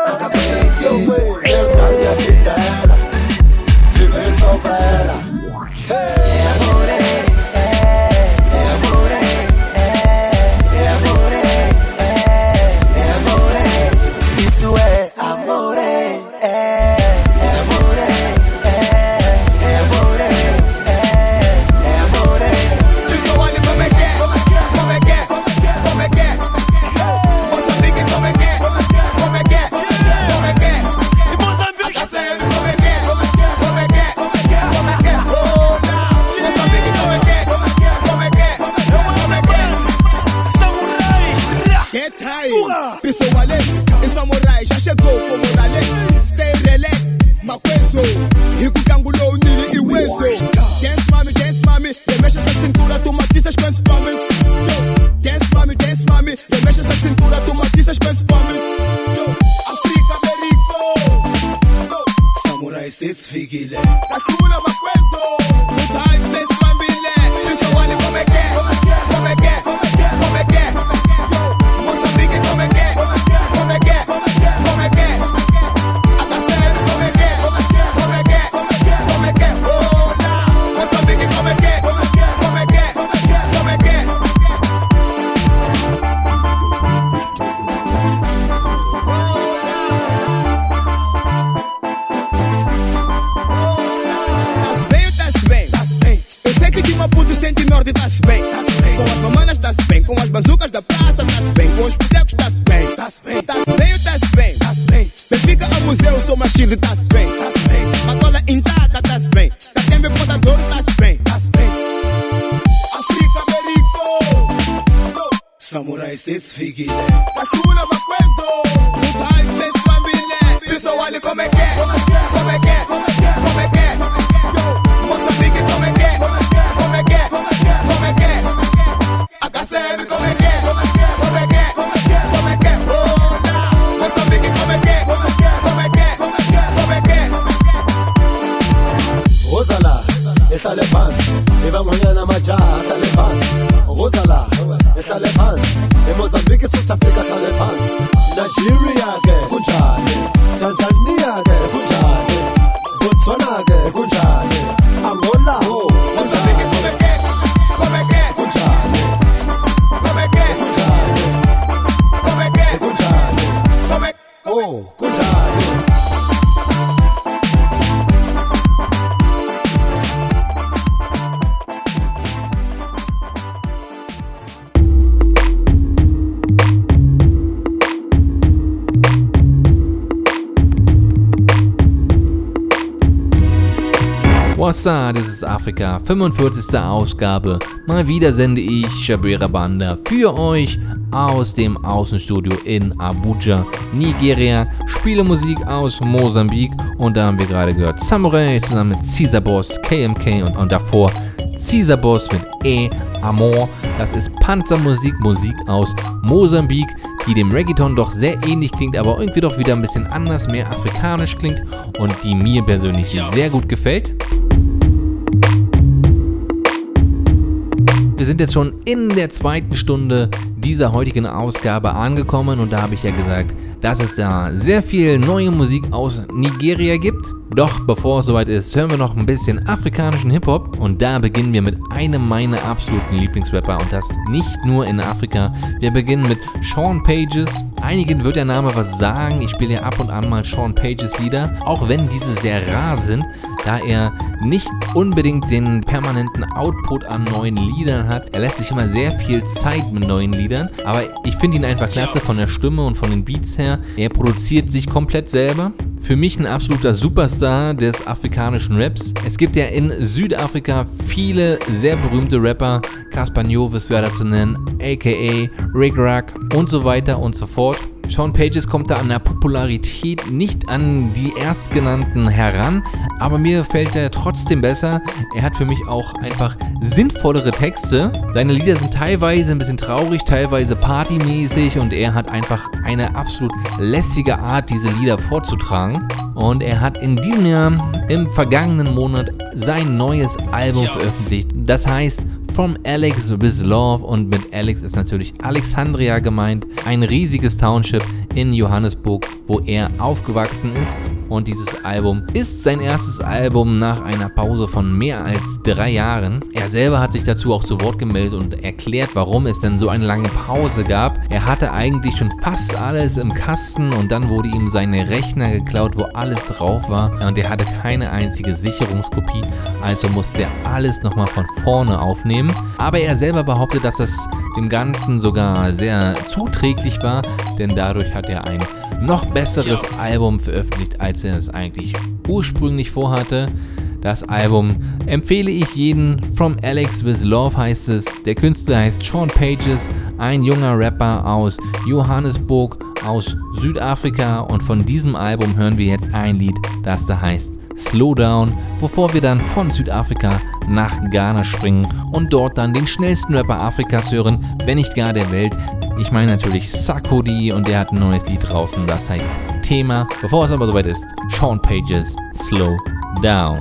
Eu quero a vida dela, viver só pra ela. É amore, é, é amore, é, é amore, é, é amore. Isso é amore, é, é amore, é, é amore, é, é amore. Pessoal, olha como é que é, como é que é, como é que é, como é que é. Moçambique, como é que é, como é que é, como é que é, como é que é. E Moçambique, como é que é, como é que é, como é que é, como é que é, como é que é. Oh, não. Moçambique, como é que é, como é que é, como é que é, como é que é. Samurai, get high. Pessoal, olha, e samurai já chegou como ralé. Stay relax, maquezo. Rico cangulou, nini e hueso. Dance mami, dance mami, remexe essa cintura, tu matiças com as palmas. Dance mami, dance mami, remexe essa cintura, tu matiças com as palmas. África, Americo. Samurai, seis figile. Kakula, maquezo. Two times, seis família. Pessoal, olha como é que é, como é que é, como é que é, como é que é. Moçambique, como é que é, como é que é, como é que é, como é que é. A K C M, como é que é, como é que é, como é que é, como é que é. Oh, não. Moçambique, como é que é, como é que é, como é que é, como é que é. Tá-se bem ou tá-se bem? Tá-se bem. Eu sei que de Maputo sente norte tá-se bem. Com as mamanas tá-se bem, com as bazucas da praça tá-se bem, com os pitecos tá-se bem. Tá-se bem. Tá-se bem ou tá-se bem? Tá-se bem. Benfica ao museu, sou machine, tá-se bem. Tá-se bem. Matola intacta, tá-se bem. Catembe Pontador, tá-se bem. Tá-se bem. África, Americo. Samurai, seis figile. Kakula, maquezo. Two times, seis família. Pessoal, olha como é que é, como é que é, como é que é, como é que é, como é que é. Moçambique, como é que é, como é que é, como é que é, como é que é. A K C M, como é que é, como é que é, como é que é, como é que é, como é que é. Oh, não. Moçambique, como é que é, como é que é, como é que é, como é que é, como é que é. Rosala, esta le pants, e vamos na majaha, esta le pants. Rosala, esta le pants, e Mozambique, South Africa, esta le pants. Nigeria, ke kunjani, Tanzania, ke kunjani, Botswana, ke kunjani, Angola, oh, Moçambique, como é que é, como é que é, kunjani, como é que é, kunjani, como é que é, kunjani, como é. oh, kunjani. Wassa, das ist Afrika, fünfundvierzigste Ausgabe. Mal wieder sende ich Shabera Banda für euch aus dem Außenstudio in Abuja, Nigeria. Spiele Musik aus Mosambik und da haben wir gerade gehört Samurai zusammen mit Caesar Boss, K M K und, und davor Caesar Boss mit E Amor. Das ist Panzermusik, Musik aus Mosambik, die dem Reggaeton doch sehr ähnlich klingt, aber irgendwie doch wieder ein bisschen anders, mehr afrikanisch klingt und die mir persönlich sehr gut gefällt. Wir sind sind jetzt schon in der zweiten Stunde dieser heutigen Ausgabe angekommen und da habe ich ja gesagt, dass es da sehr viel neue Musik aus Nigeria gibt. Doch bevor es soweit ist, hören wir noch ein bisschen afrikanischen Hip-Hop und da beginnen wir mit einem meiner absoluten Lieblingsrapper und das nicht nur in Afrika. Wir beginnen mit Sean Pages. Einigen wird der Name was sagen, ich spiele ja ab und an mal Sean Pages Lieder, auch wenn diese sehr rar sind, da er nicht unbedingt den permanenten Output an neuen Liedern hat. Er lässt sich immer sehr viel Zeit mit neuen Liedern, aber ich finde ihn einfach klasse von der Stimme und von den Beats her. Er produziert sich komplett selber. Für mich ein absoluter Superstar des afrikanischen Raps. Es gibt ja in Südafrika viele sehr berühmte Rapper, Cassper Nyovest wäre da zu nennen, aka Rick Rack und so weiter und so fort. Sean Pages kommt da an der Popularität nicht an die erstgenannten heran, aber mir gefällt er trotzdem besser. Er hat für mich auch einfach sinnvollere Texte. Seine Lieder sind teilweise ein bisschen traurig, teilweise partymäßig und er hat einfach eine absolut lässige Art, diese Lieder vorzutragen. Und er hat in diesem Jahr, im vergangenen Monat, sein neues Album veröffentlicht. Das heißt From Alex with Love und mit Alex ist natürlich Alexandria gemeint, ein riesiges Township in Johannesburg, wo er aufgewachsen ist. Und dieses Album ist sein erstes Album nach einer Pause von mehr als drei Jahren. Er selber hat sich dazu auch zu Wort gemeldet und erklärt, warum es denn so eine lange Pause gab. Er hatte eigentlich schon fast alles im Kasten und dann wurde ihm seine Rechner geklaut, wo alles drauf war und er hatte keine einzige Sicherungskopie, also musste er alles nochmal von vorne aufnehmen. Aber er selber behauptet, dass das dem Ganzen sogar sehr zuträglich war, denn dadurch hat er ein noch besseres Album veröffentlicht, als er es eigentlich ursprünglich vorhatte. Das Album empfehle ich jedem. From Alex with Love heißt es. Der Künstler heißt Sean Pages, ein junger Rapper aus Johannesburg, aus Südafrika. Und von diesem Album hören wir jetzt ein Lied, das da heißt Slow Down, bevor wir dann von Südafrika nach Ghana springen und dort dann den schnellsten Rapper Afrikas hören, wenn nicht gar der Welt. Ich meine natürlich Sarkodie und der hat ein neues Lied draußen, das heißt Thema. Bevor es aber soweit ist, Sean Pages, Slow Down.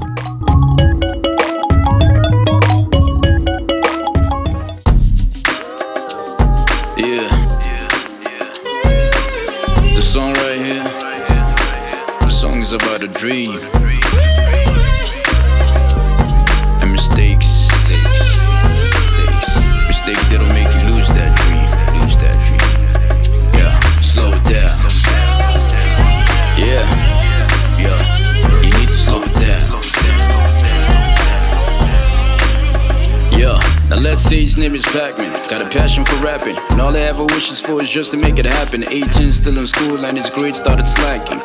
Yeah, the song right here, the song is about a dream. And mistakes, mistakes, mistakes, mistakes that'll make you lose that dream, lose that dream. Yeah, slow it down. Yeah, yeah, you need to slow it down. Yeah, now let's say his name is Pac-Man. Got a passion for rapping, and all I ever wishes for is just to make it happen. eighteen, still in school, and his grades started slacking.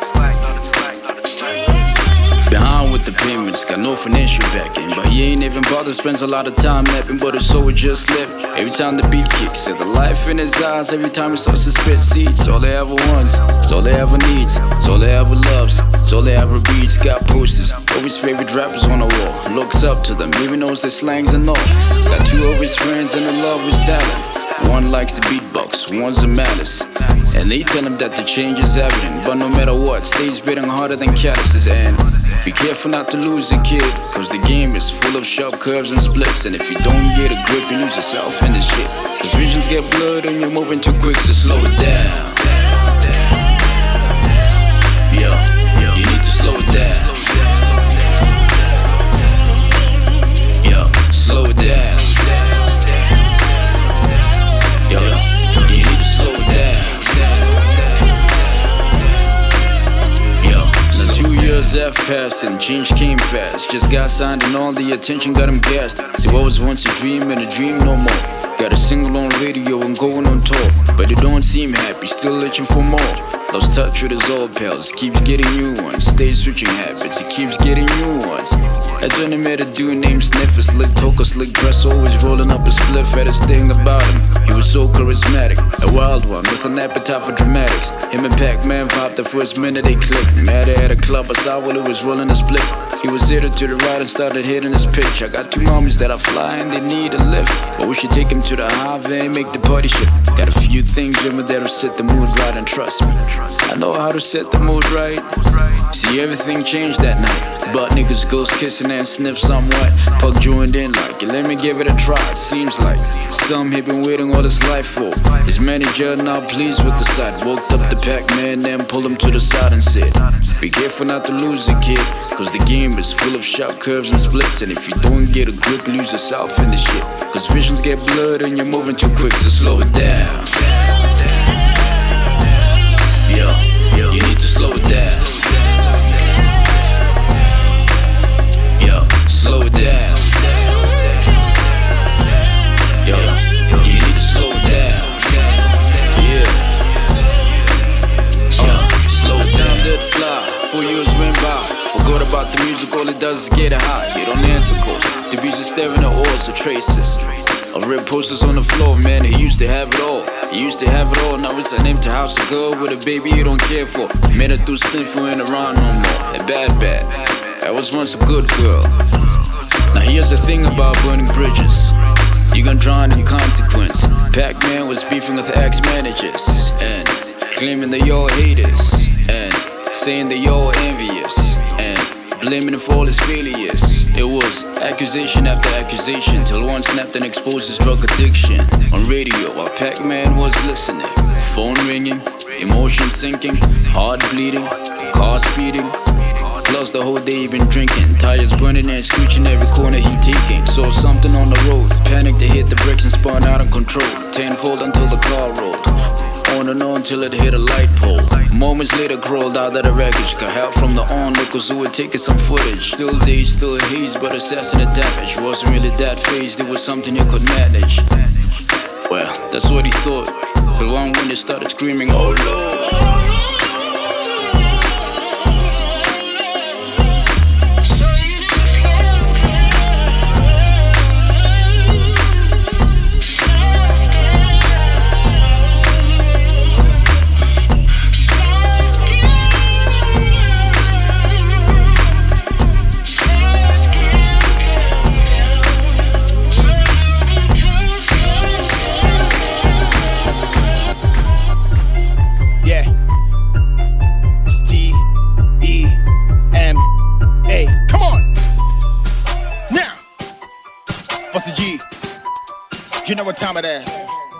Behind with the payments, got no financial backing, but he ain't even bothered, spends a lot of time napping, but his soul just left. Every time the beat kicks, and the life in his eyes, every time he starts to spit seeds. All he ever wants, it's all he ever needs, it's all he ever loves, it's all he ever reads. Got posters of his favorite rappers on the wall, looks up to them, even knows their slangs and all. Got two of his friends and they love his talent. One likes to beatbox, one's a malice. And they tell him that the change is evident, but no matter what, stays beating harder than calluses. And be careful not to lose a kid, cause the game is full of sharp curves and splits. And if you don't get a grip, you lose yourself in this shit. Cause visions get blurred and you're moving too quick, so slow it down. Yo, you need to slow it down. Yo, slow it down. Yo, you need to slow it down. Yo, now two years have passed and change came fast. Just got signed and all the attention got him gassed. See what was once a dream and a dream no more. Got a single on radio and going on tour, but it don't seem happy, still itching for more. Lost touch with his old pals, keeps getting new ones. Stays switching habits, he keeps getting new ones. That's when he met a dude named Sniffer, slick talker, slick dress, always rolling up a spliff. Had his thing about him, he was so charismatic, a wild one with an appetite for dramatics. Him and Pac-Man vibed the first minute they clicked. Mad at a club, I saw while he was rolling a split. He was headed to the right and started hitting his pitch. I got two homies that I fly and they need a lift, but we should take him to the highway and make the party shit. Got a few things in me that'll set the mood right, and trust me, I know how to set the mood right. See, everything changed that night. Butt niggas, ghost kissing and sniff somewhat. Pug joined in like, let me give it a try. It seems like some he been waiting all his life for. His manager not pleased with the sight. Woke up the Pac-Man, then pulled him to the side and said, be careful not to lose it, kid, cause the game is full of sharp curves and splits. And if you don't get a grip, lose yourself in the shit. Cause visions get blurred and you're moving too quick, so slow it down. Yo, yo, you need to slow it down. Yo, slow it down. Yo, you need to slow it down. Yeah. Uh, slow it down, let it fly. Four years went by. Forgot about the music, all it does is get it high. You don't answer calls. The beats are staring at oars or traces. I read posters on the floor, man, he used to have it all. He used to have it all, now it's an empty house to go with a baby you don't care for. Made it through sniffing, ain't around no more. A bad, bad. I was once a good girl. Now here's the thing about burning bridges. You gon' drown in consequence. Pac-Man was beefing with ex-managers and claiming they all haters and saying they all envious and blaming him for all his failures. It was accusation after accusation till one snapped and exposed his drug addiction. On radio while Pac-Man was listening. Phone ringing, emotion sinking, heart bleeding, car speeding. Plus the whole day he been drinking. Tires burning and screeching every corner he taking. Saw something on the road, panicked to hit the brakes and spun out of control. Tenfold until the car rolled. On and on till it hit a light pole. Moments later crawled out of the wreckage. Got help from the onlookers who were taking some footage. Still days, still haze, but assessing the damage. Wasn't really that phased, it was something he could manage. Well, that's what he thought. Till one when they started screaming, oh Lord. You know what time it is?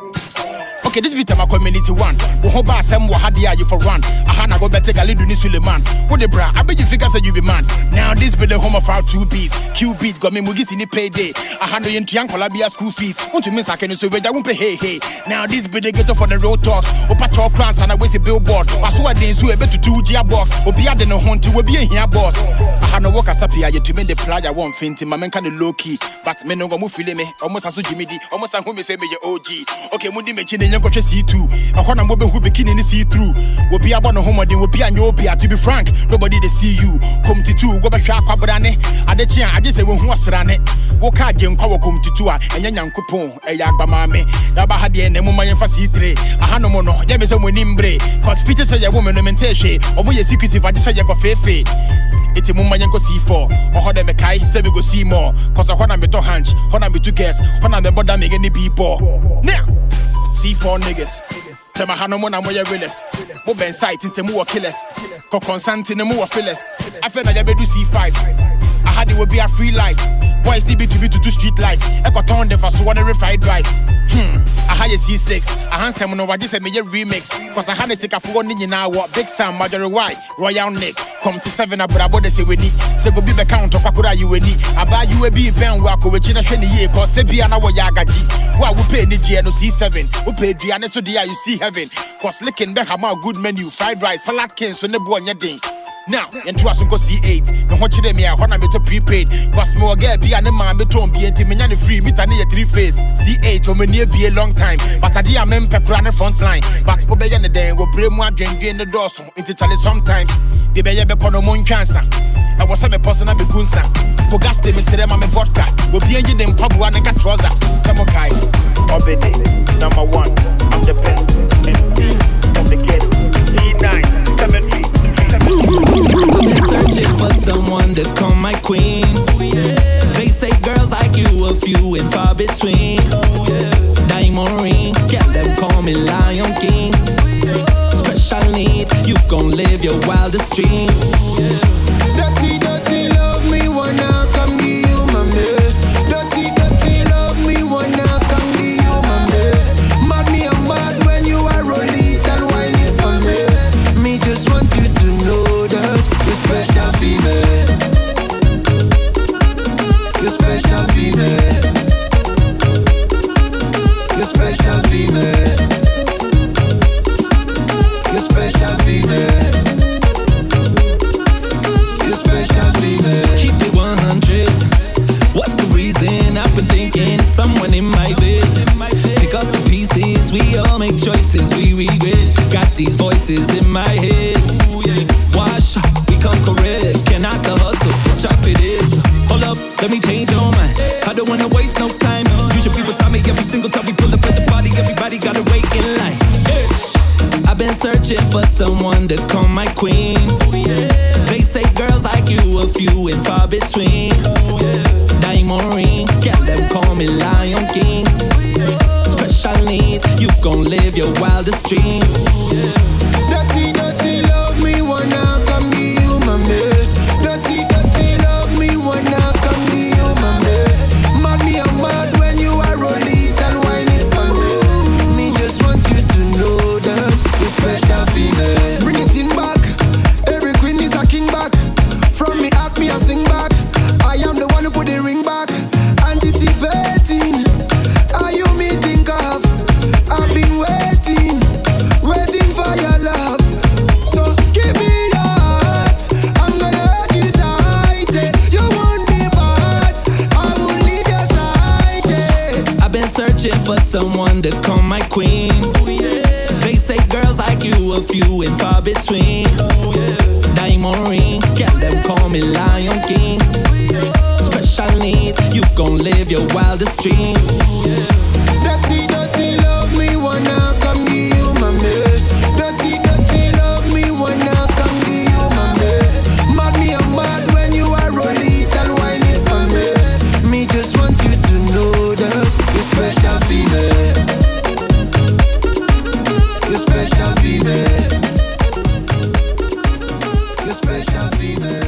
Okay, this beat my community one. Wo ba sem wo hade are you for run. Aha na go better gali do ni Suleiman. Wo de bra, I bet you figure say you be man. Now this be the home of our two beats. Q beat got me mugis in the payday. Aha no yen tian kolabia school fees. Want to miss I can so we won't pay hey hey. Now this be the ghetto for the road talks. O patrol crowns and I waste a billboard. I saw days who able to do G box. O be ade no hunt we be here boss. Aha no work as up here to me the playa one fainting. My man kind of low key. But me no go move feeling me. Almost as Jimmy D. Almost as who me say me your O G. Okay, mundi me chine nyanko see two. I wanna move who bikini ni see through. We'll be about no home then we'll be an obia. To be frank, nobody they see you. Come to two, go back to Aquabrane. I the chin, I just say when who was rane. Walk out, young power come to two, and yan coupon, a yagba mame. Yaba had the end, the woman for C three. I had no mono, James and Winimbre. Cause features say a woman, no mentation, or more secretive, I just say you go fefe. It's a woman you go see for, or how they make I say we go see more. Cause I want to be to hunch, want to be to guess, want to be bother make any people. Now, C four niggas. Tell my hand on my realist. Mo ben sight into more killers. Ko constant in the more fillers. I feel like I better do C five. I had it would be a free life. Boys D B to be to do street life. Echo turn them for so one fried rice. Hmm. I had a C six. I handsome no I just said me a remix. Cause I had a sick of one in now what Big Sam, Marjorie White, Royal Nick. Come to seven about what they say we need. Say go be the count of Pakura you need. I buy you a B pen walk with China Shani year cause Sebiana wa Yagaji. Why we pay Nigeria no C seven. We pay Diana to the you see heaven. Cause licking back a good menu, fried rice, salad cans, so never on your ding. Now, into us go C eight. No what you me I wanna be to prepaid. Cause more get be an man be to be anti me free meet and three face. C eight or me near be a long time. But I dear men pepper on the front line. But obey the day will bring more drink in the door so into Charlie sometimes. The baby be kono moon cancer. I was a person of the Kunsa. Pogaste me say them I'm a vodka. Will be in them pub one and a trouser. Samokai. Obede, number one. I'm the best. M D of the kid. D nine, seven three. They're searching for someone to call my queen. They say girls like you a few and far between. Diamond ring, get them call me Lion King. Special needs, you gon' live your wildest dreams. Dirty, dirty, love me wanna come to you, mommy. Dirty, dirty, someone in my bed. Pick up the pieces, we all make choices we regret. Got these voices in my head. Wash up, become correct. Cannot the hustle, chop it is. Hold up, let me change your mind. I don't wanna waste no time. You should be beside me every single time we pull up at the party. Everybody gotta wait in line. I've been searching for someone to call my queen. They say girls like you a few and far between. Diamond ring, yeah, them call me Lion King. Special needs, you gon' live your wildest dreams. Dirty, dirty, love me, wanna come to you, mommy. Dirty, dirty, love me, wanna come to you, mommy. Mommy, I'm mad when you are roll it and wine it for me. Me just want you to know that you're special female. Bring it in back, every queen is a king back. From me act me, I sing back. I am the one who put the ring back. Anticipating, are you me think of? I've been waiting, waiting for your love. So give me your heart, I'm gonna hug it tight. You won't be bad, I will leave your side. Yeah. I've been searching for someone to call my queen. They say girls like you a few and far between. Diamond ring, yeah, them call me Lion King. Special needs, you gon' live your wildest dreams. Dirty, dirty, love me, wanna come to you, mommy. Dirty, dirty, love me, wanna come to you, mommy. Mad me, I'm mad when you are roll it and wine it for me. Me just want you to know that you're special female. You're special female. You're special female.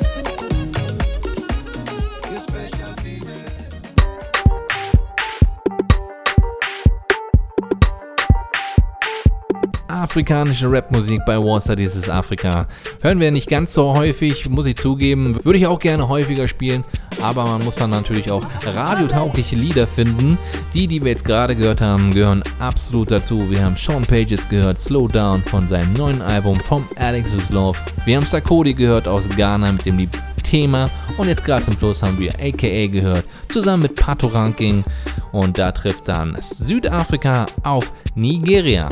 Afrikanische Rapmusik bei Warsaw, dieses Afrika. Hören wir nicht ganz so häufig, muss ich zugeben. Würde ich auch gerne häufiger spielen, aber man muss dann natürlich auch radiotaugliche Lieder finden. Die, die wir jetzt gerade gehört haben, gehören absolut dazu. Wir haben Sean Pages gehört, Slow Down von seinem neuen Album From Alex With Love. Wir haben Sarkodie gehört aus Ghana mit dem Lied Thema und jetzt gerade zum Schluss haben wir A K A gehört, zusammen mit Pato Ranking und da trifft dann Südafrika auf Nigeria.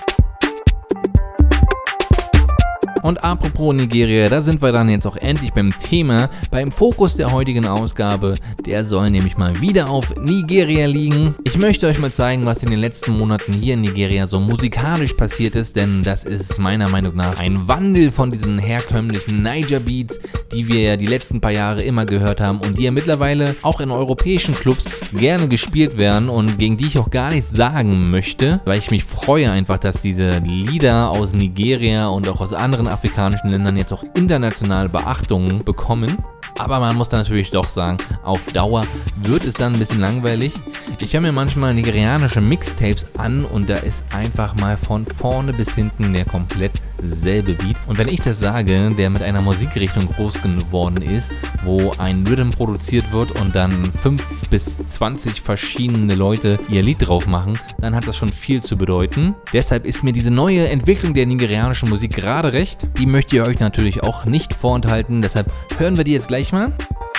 Und apropos Nigeria, da sind wir dann jetzt auch endlich beim Thema, beim Fokus der heutigen Ausgabe. Der soll nämlich mal wieder auf Nigeria liegen. Ich möchte euch mal zeigen, was in den letzten Monaten hier in Nigeria so musikalisch passiert ist, denn das ist meiner Meinung nach ein Wandel von diesen herkömmlichen Niger-Beats, die wir ja die letzten paar Jahre immer gehört haben und die ja mittlerweile auch in europäischen Clubs gerne gespielt werden und gegen die ich auch gar nichts sagen möchte, weil ich mich freue einfach, dass diese Lieder aus Nigeria und auch aus anderen afrikanischen Ländern jetzt auch international Beachtung bekommen. Aber man muss dann natürlich doch sagen, auf Dauer wird es dann ein bisschen langweilig. Ich höre mir manchmal nigerianische Mixtapes an und da ist einfach mal von vorne bis hinten der komplett selbe Beat. Und wenn ich das sage, der mit einer Musikrichtung groß geworden ist, wo ein Rhythm produziert wird und dann fünf bis zwanzig verschiedene Leute ihr Lied drauf machen, dann hat das schon viel zu bedeuten. Deshalb ist mir diese neue Entwicklung der nigerianischen Musik gerade recht. Die möchte ich euch natürlich auch nicht vorenthalten, deshalb hören wir die jetzt gleich mal.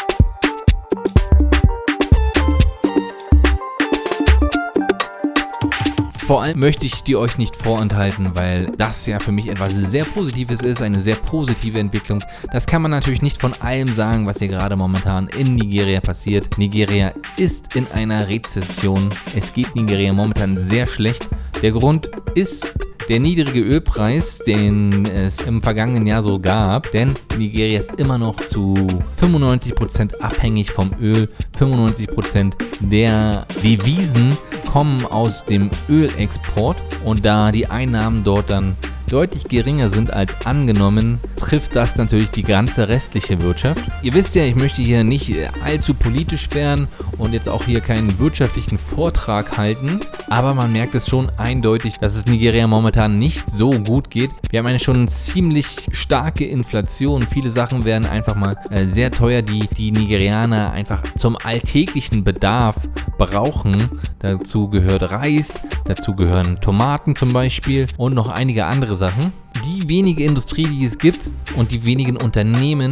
Vor allem möchte ich die euch nicht vorenthalten, weil das ja für mich etwas sehr Positives ist, eine sehr positive Entwicklung. Das kann man natürlich nicht von allem sagen, was hier gerade momentan in Nigeria passiert. Nigeria ist in einer Rezession. Es geht Nigeria momentan sehr schlecht. Der Grund ist der niedrige Ölpreis, den es im vergangenen Jahr so gab, denn Nigeria ist immer noch zu fünfundneunzig Prozent abhängig vom Öl. fünfundneunzig Prozent der Devisen kommen aus dem Ölexport und da die Einnahmen dort dann deutlich geringer sind als angenommen, trifft das natürlich die ganze restliche Wirtschaft. Ihr wisst ja, ich möchte hier nicht allzu politisch werden und jetzt auch hier keinen wirtschaftlichen Vortrag halten, aber man merkt es schon eindeutig, dass es Nigeria momentan nicht so gut geht. Wir haben eine schon ziemlich starke Inflation. Viele Sachen werden einfach mal äh, sehr teuer, die die Nigerianer einfach zum alltäglichen Bedarf brauchen. Dazu gehört Reis, dazu gehören Tomaten zum Beispiel und noch einige andere Sachen. Die wenige Industrie, die es gibt und die wenigen Unternehmen,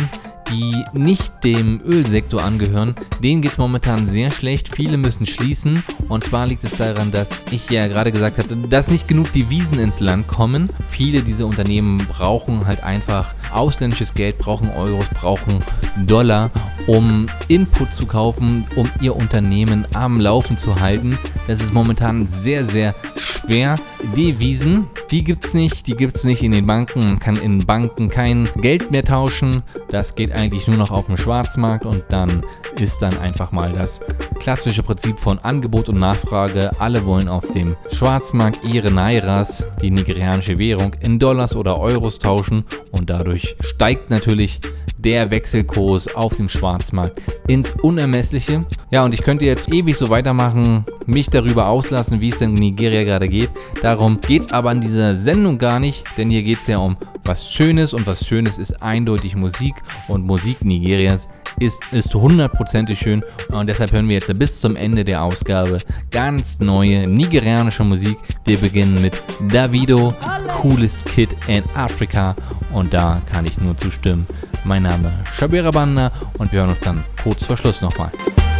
die nicht dem Ölsektor angehören, denen geht es momentan sehr schlecht. Viele müssen schließen und zwar liegt es daran, dass ich ja gerade gesagt hatte, dass nicht genug Devisen ins Land kommen. Viele dieser Unternehmen brauchen halt einfach ausländisches Geld, brauchen Euros, brauchen Dollar, um Input zu kaufen, um ihr Unternehmen am Laufen zu halten. Das ist momentan sehr, sehr schwer. Devisen, die gibt's nicht, die gibt's nicht in den Banken. Man kann in Banken kein Geld mehr tauschen. Das geht eigentlich nur noch auf dem Schwarzmarkt und dann ist dann einfach mal das klassische Prinzip von Angebot und Nachfrage. Alle wollen auf dem Schwarzmarkt ihre Nairas, die nigerianische Währung, in Dollars oder Euros tauschen und dadurch steigt natürlich der Wechselkurs auf dem Schwarzmarkt ins Unermessliche. Ja, und ich könnte jetzt ewig so weitermachen, mich darüber auslassen, wie es denn in Nigeria gerade geht. Darum geht es aber in dieser Sendung gar nicht, denn hier geht es ja um was Schönes und was Schönes ist eindeutig Musik und Musik Nigerias ist, ist hundertprozentig schön und deshalb hören wir jetzt bis zum Ende der Ausgabe ganz neue nigerianische Musik. Wir beginnen mit Davido, Coolest Kid in Africa und da kann ich nur zustimmen. Mein Name ist Shabira Banda und wir hören uns dann kurz vor Schluss nochmal.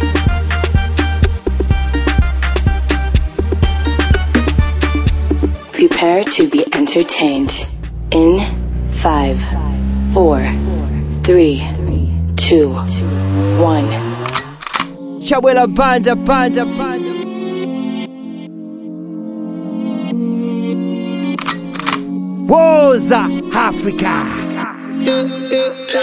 Prepare to be entertained in five, four, three, two, one. Shabira Banda, Banda, Banda. Woza Africa. Yeah, yeah, yeah.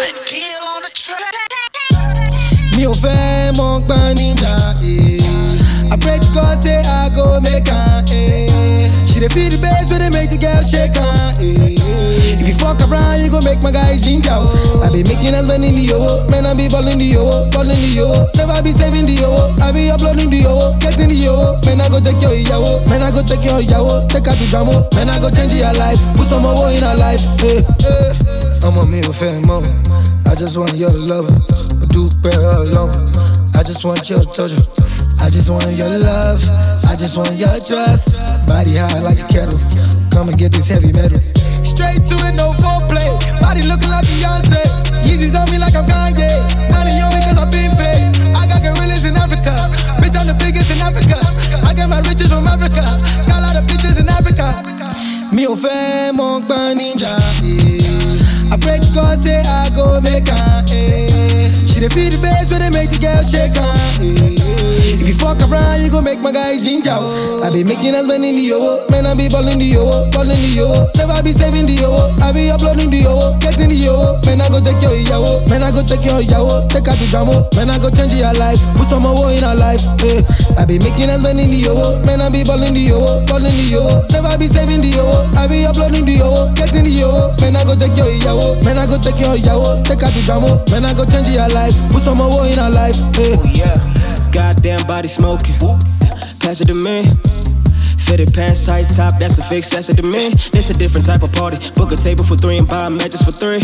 Me ò fẹ́ mọ gbọ́n níjà, eh. I pray to God say I go make am, eh. She dey feel the bass when they make the girl shake am, eh. If you fuck around, you go make my guys ginger, oh. I be making us spend in the yo, man I be balling the yo, balling the yo. Never be saving the yo, I be uploading the yo, getting the yo. Man I go take your yawo, man I go take your yawo, take her to Jamo. Man I go change your life, put some more in her life, eh, eh. I'm a me ò fẹ́ mọ́, I just want your love. Do better alone. I just want your touch. I just want your love. I just want your trust. Body high like a kettle. Come and get this heavy metal. Straight to it, no foreplay. Body looking like Beyonce. Yeezys on me like I'm Kanye. Money on me cause I've been paid. I got gorillas in Africa. Bitch, I'm the biggest in Africa. I get my riches from Africa. Got a lot of bitches in Africa. Me ò fẹ́ mọ gbọ́n níjà, eh. I pray to God say I go make am, eh. She dey feel the bass when they make the girl shake am, eh. If you fuck around, you go make my guys ginger, oh. I be making us spend in the yo, man I be balling the yo, balling the yo. Never be saving the yo, I be uploading the yo, getting the yo. Man I go take your yawo, man I go take your yawo, take her to Jamo. Man I go change your life, put some more in her life, eh. I be making us spend in the yo, man I be balling the yo, balling the yo. Never be saving the yo, I be uploading the yo, getting the yo. Man I go take your yawo, man I go take your yawo, take her to Jamo. Man I go change your life, put some more in her life, eh. Oh yeah, goddamn body smoking, pass it to me. Fitted pants, tight top, that's a fix, that's it to me. This a different type of party. Book a table for three and buy matches for three.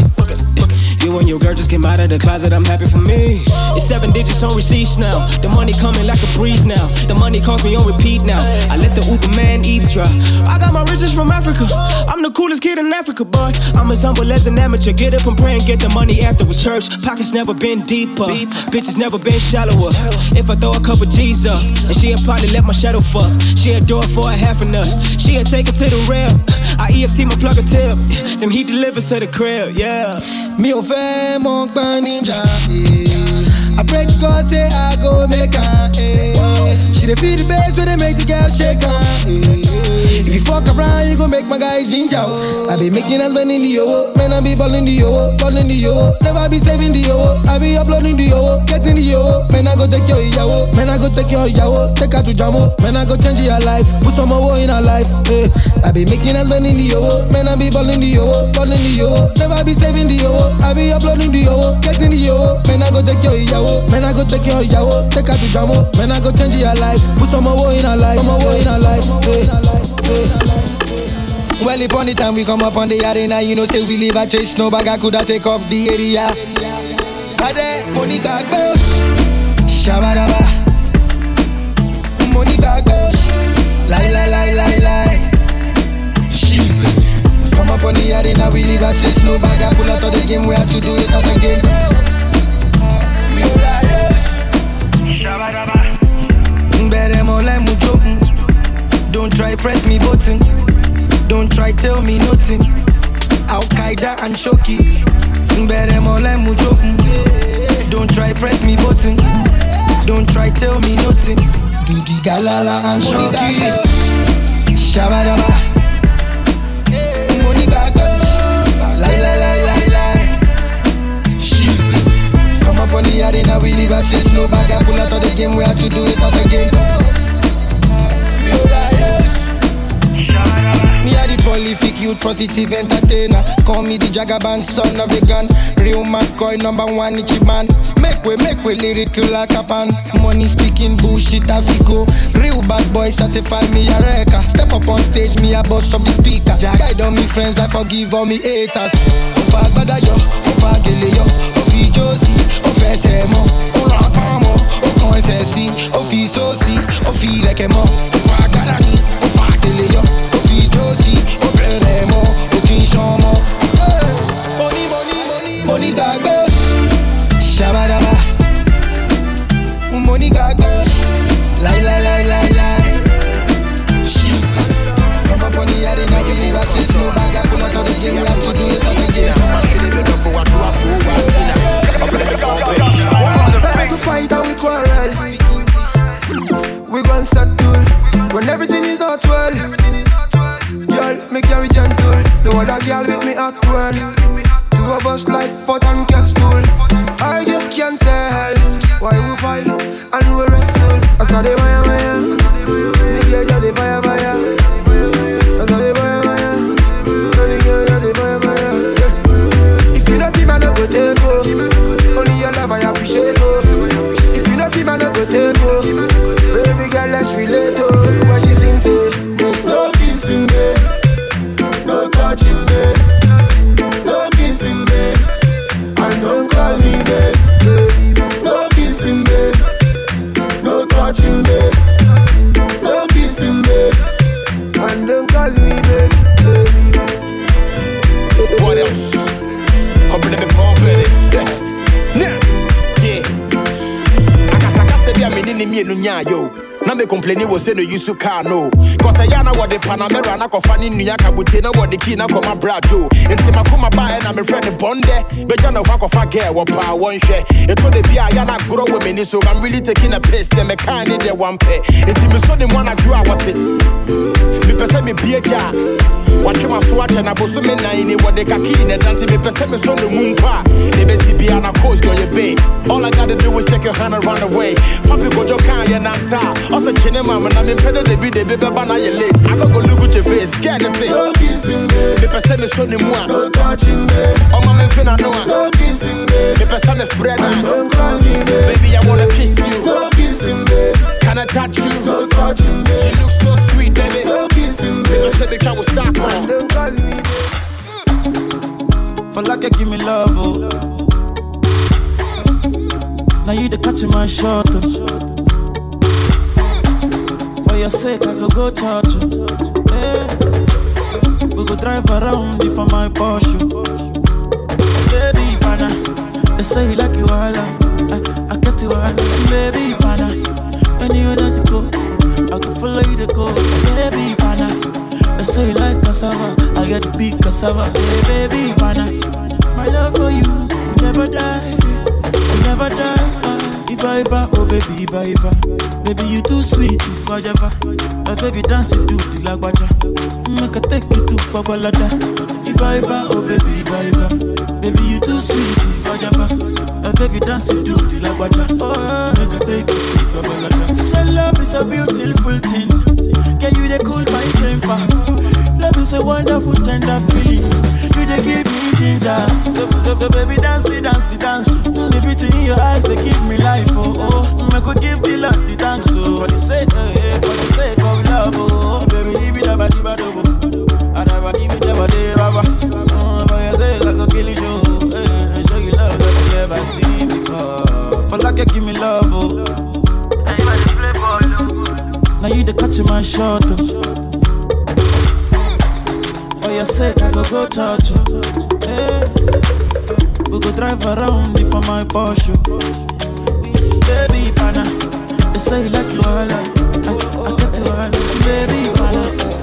You and your girl just came out of the closet, I'm happy for me. It's seven digits on receipts now. The money coming like a breeze now. The money calls me on repeat now. I let the Uber man eavesdrop. I got my riches from Africa. I'm the coolest kid in Africa, boy. I'm as humble as an amateur. Get up and pray and get the money afterwards. Church pockets never been deeper. Bitches never been shallower. If I throw a couple G's up, and she'll probably let my shadow fuck. She'll do it for a half a nut. She'll take it to the rail. I E F T my plug a tip. Then he delivers to the crib, yeah. Me ò fẹ́ mọ gbọ́n níjà, eh. I pray to God say I go make am, eh. She dey feel the bass when they make the girl shake am, eh. If you fuck around, you go make my guys ginger, oh. I be making us spend in the yo, man I be balling the yo, balling the yo. Never be saving the yo, I be uploading the yo, getting the yo. Man I go take your yawo, man I go take your yawo, take her to Jamo. Man I go change your life, put some more in her life, eh. I be making us spend in the yo, man I be balling the yo, balling the yo. Never be saving the yo, I be uploading the yo, getting the yo. Man I go take your yawo, man I go take your yawo, take her to Jamo. Man I go change your life, put some more in her life, some more in her life, eh. Well, upon the time we come up on the arena, you know, say we leave a trace, no bag I coulda take off the area. Ade, money back boss, shabaraba. Money back boss, lie, lie, lie, lie, lie. Come up on the arena, we leave a trace, no bag I pull out of the game, we have to do it out again. press me button. Don't try tell me nothing. Al Qaeda and Shoki. Don't try press me button. Don't try tell me nothing. Do the galala and Shoki. Shabadaba. Money gagas. Lie, lie, lie, lie, lie. She's come up on the arena, we leave a chase. No bag, I pull out of the game. We have to do it up again. Me a the prolific youth, positive entertainer. Call me the Jagaban, son of a gun. Real McCoy, number one Ichiban. Make way, make way, lyrical like a pan. Money speaking bullshit, Afico. Real bad boy, certify me a wrecker. Step up on stage, me a boss of the speaker. Guide on me friends, I forgive all me haters. Ofa gbada yo, ofa gele yo. Ofi Josie, ofe semo. Ora amo, okon esesi. Ofi sosi, ofi rekemo. Ofa gbada ni, ofa gele yo. Ofi Josie, ofe remo. Okin shomo. Money, money, money, money gagos. Shabadaba. Money gagos. Lie, lie, lie, lie, lie. She's come up on the yard and I believe I chase no bag. I pull out of the game, we have to do it up again. Start to fight and we quarrel. We gon' settle when everything is not well. Girl, me carry gentle. No other girl with me at well. Two of us like pot and castle. I just can't tell why we fight and we wrestle. I saw the fire, fire. Me get the fire, fire. I saw the fire, fire. Me get the fire, fire. If you not him, I don't go take go. Only your love I appreciate go. If you not him, I don't go take go. Baby girl, let's relate to what she sings to. No kissing me, no touching me, no kissing me, and don't call me babe. No kissing me, no touching me, no kissing me, and don't call me babe. What else? Come let me pump it. Yeah, yeah. I can't say I'm in the middle of yo. Na me complaini wo say no use car no. Cause I yana what the Panamera na kofani nuya kabute na what the key na koma brajo. Enti makoma ba na me friend bonde. Be jana wa kofa girl wo pa won hwe. E to de bia yana grow with me so I'm really taking a piss them me kind dey one pay. Enti me so the one I grew I was it. Me pese me bia ja. Watch my swatch and I boss me nine what the kaki na dance me pese me so the moon pa. E be si bia na coast on your bay. All I gotta do is take your hand and run away. Papi go jo kan ya na ta. Also, Chinema, when I'm in Pedro, they be the baby, but now you're late. I don't go look at your face, scared to say. No kissing me, me person me show them one. no touching me. Oh, my man, finna know. No kissing me, me person me Fred. Don't call me baby. Baby, I wanna kiss you. No kissing me, can I touch you? No touching me. She looks so sweet, baby. No kissing me, me person me can we start on. Don't call me baby. For like you give me love, oh. Now you the catching my shot, oh. For your sake, I go go church. Hey. We go drive around if I'm my Porsche. Baby, pana, they say you like you all. I, I get you all. Baby, pana, anywhere that you go, I can follow you to go. Baby, pana, they say you like cassava. I get big cassava. Hey, baby, pana, my love for you will never die. Will never die. If I ever, oh baby, if I ever, baby you too sweet, if I ever, my baby dance it to the lagwaja, make I take you to Babalada. If I ever, oh baby, if I ever, baby you too sweet, if I ever, my baby dance it to the lagwaja, oh make I take you to Babalada. So love is a beautiful thing, can you they cool my temper? Love is a wonderful tender feeling, you they give me ginger. So baby dance it, dance it, dance. The beauty in your eyes they give me life. Oh, oh, I could give the love the thanks so for the sake, eh, for the sake of love, oh, baby, leave it about the bado, I never give it about the baba. Oh, for your sake, I could kill you, eh, show you love that you never seen before. For like you give me love, oh, now you the catch my shot, oh. For your sake, I go go touch you, eh. We go drive around if I'm my Porsche. Baby, pana, they say you like you all. I, I get you all. Baby, pana,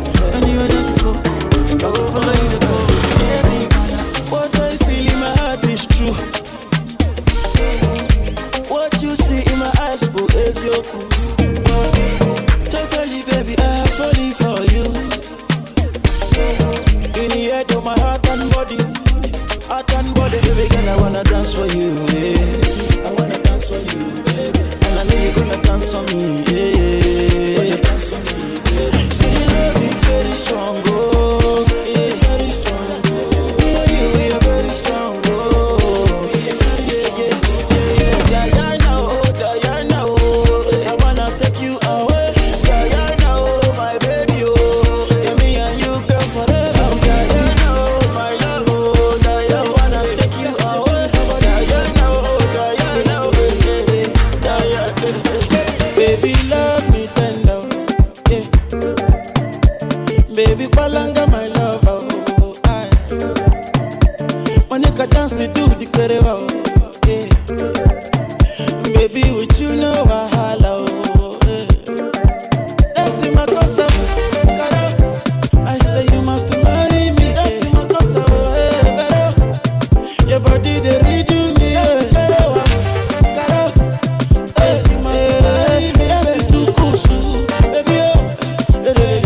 wanna dance for you, yeah. I wanna dance for you, baby. And I know you're gonna dance for me, yeah. Wanna dance for me, baby. See, your love is very strong, oh, yeah. Very strong, oh. For you, we are very strong, oh. Yeah, yeah, yeah, yeah, yeah. Diana, oh, Diana, oh. I wanna take you away, Diana, oh, my baby, oh. Yeah, me and you, girl, forever, Diana, oh, my love, oh, Diana, I wanna take you away, Diana, oh, Diana, oh, baby, Diana, baby, love me tender, yeah. Baby, Palanga, my love, oh, I. When you can dance, you do the kereva, oh, yeah. Baby, with you, no wahala, oh, yeah. That's in my casa, cara. I say you must marry me. That's in my casa, oh, yeah, better. Your body, they redo me, yeah, better, cara. Hey, you must marry me. That's in Sukusu, baby, oh, yeah,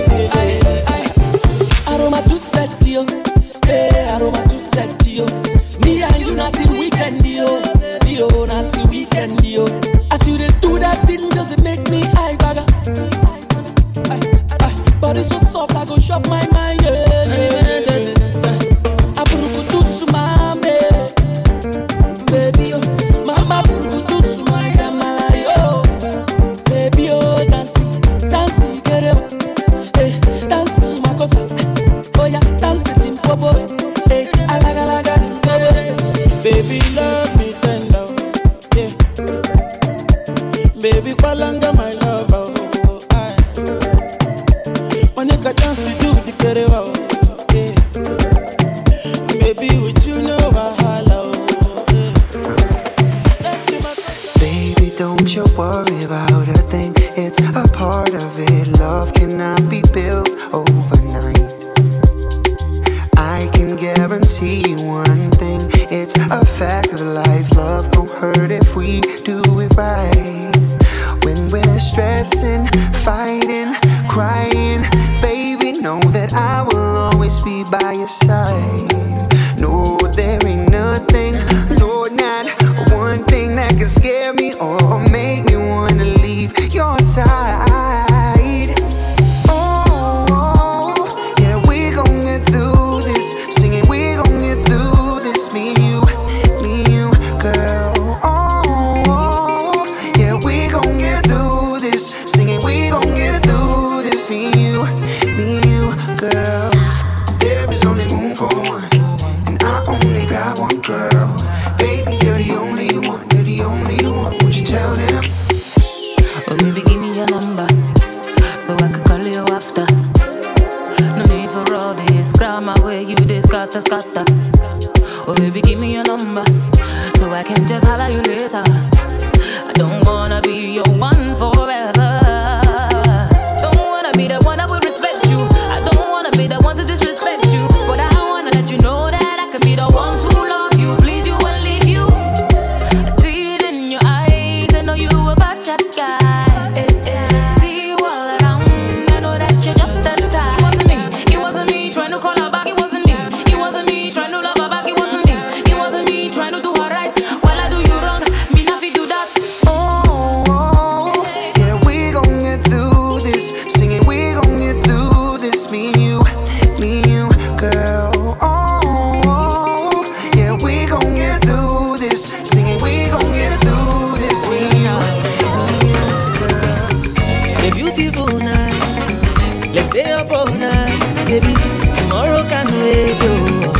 yeah. Aroma too sexy, yo. Hey, aroma too sexy, yo. Me and you not till weekend, yo. Yo, not till weekend, yo. As you dey do that thing, does it make me high bagger? Body so soft, I go shop my mind, yeah, yeah. Apurukutu sumame, baby, yo. Mama apurukutu sumaya malayo, baby, yo. Dancing, dancing, get it, hey, dancing, makosa. Oh yeah, dancing in popo, hey, alaga alaga, Baby, love me tender, yeah. Baby, Palanga, my love, oh, I. When you can dance, you do the kereva, oh, yeah. Baby, with you, no wahala, oh, yeah. Baby, don't you worry about a thing. It's a part of it. Love cannot be built overnight. I can guarantee you one thing. It's a fact of life. Love don't hurt if we do it right. When we're stressing, fighting, crying, baby, know that I will always be by your side. No, there ain't nothing, no, not one thing that can scare me or make me wanna leave your side. Oh, oh, yeah, we gon' get through this. Singing, we gon' get through this. Me and you, me and you, girl. Oh, oh, yeah, we gon' get through this. Singing, we gon' get through this. Me and you, me and you, girl. There is only room for one, and I only got one girl. Baby, you're the only one, you're the only one. Won't you tell them? Oh, baby, give me your number, so I can call you after. No need for all this grammar where you this scatter, scatter. Oh, baby, give me your number, so I can just holler you later. I don't wanna be your one forever. Don't wanna be the one that would respect you. I don't wanna be the one to disrespect you. But I wanna let you know that I can be the one to love you, please you and leave you. I see it in your eyes, I know you a bad chat guy. See you all around, I know that you're just that type. It wasn't me, it wasn't me trying to call her back. It wasn't me, it wasn't me trying to love her back. It wasn't me, it wasn't me trying to do her right. While I do you wrong, me not fi do that. Oh, oh, yeah, we gon' get through this. Singing, we gon' get through this. Me and you, me and you, girl. Oh, oh, yeah, we gon' get through this. Singing, we gon' get through this. Me and you, me and you, girl. It's a beautiful night. Let's stay up all night, baby. Tomorrow can wait, oh.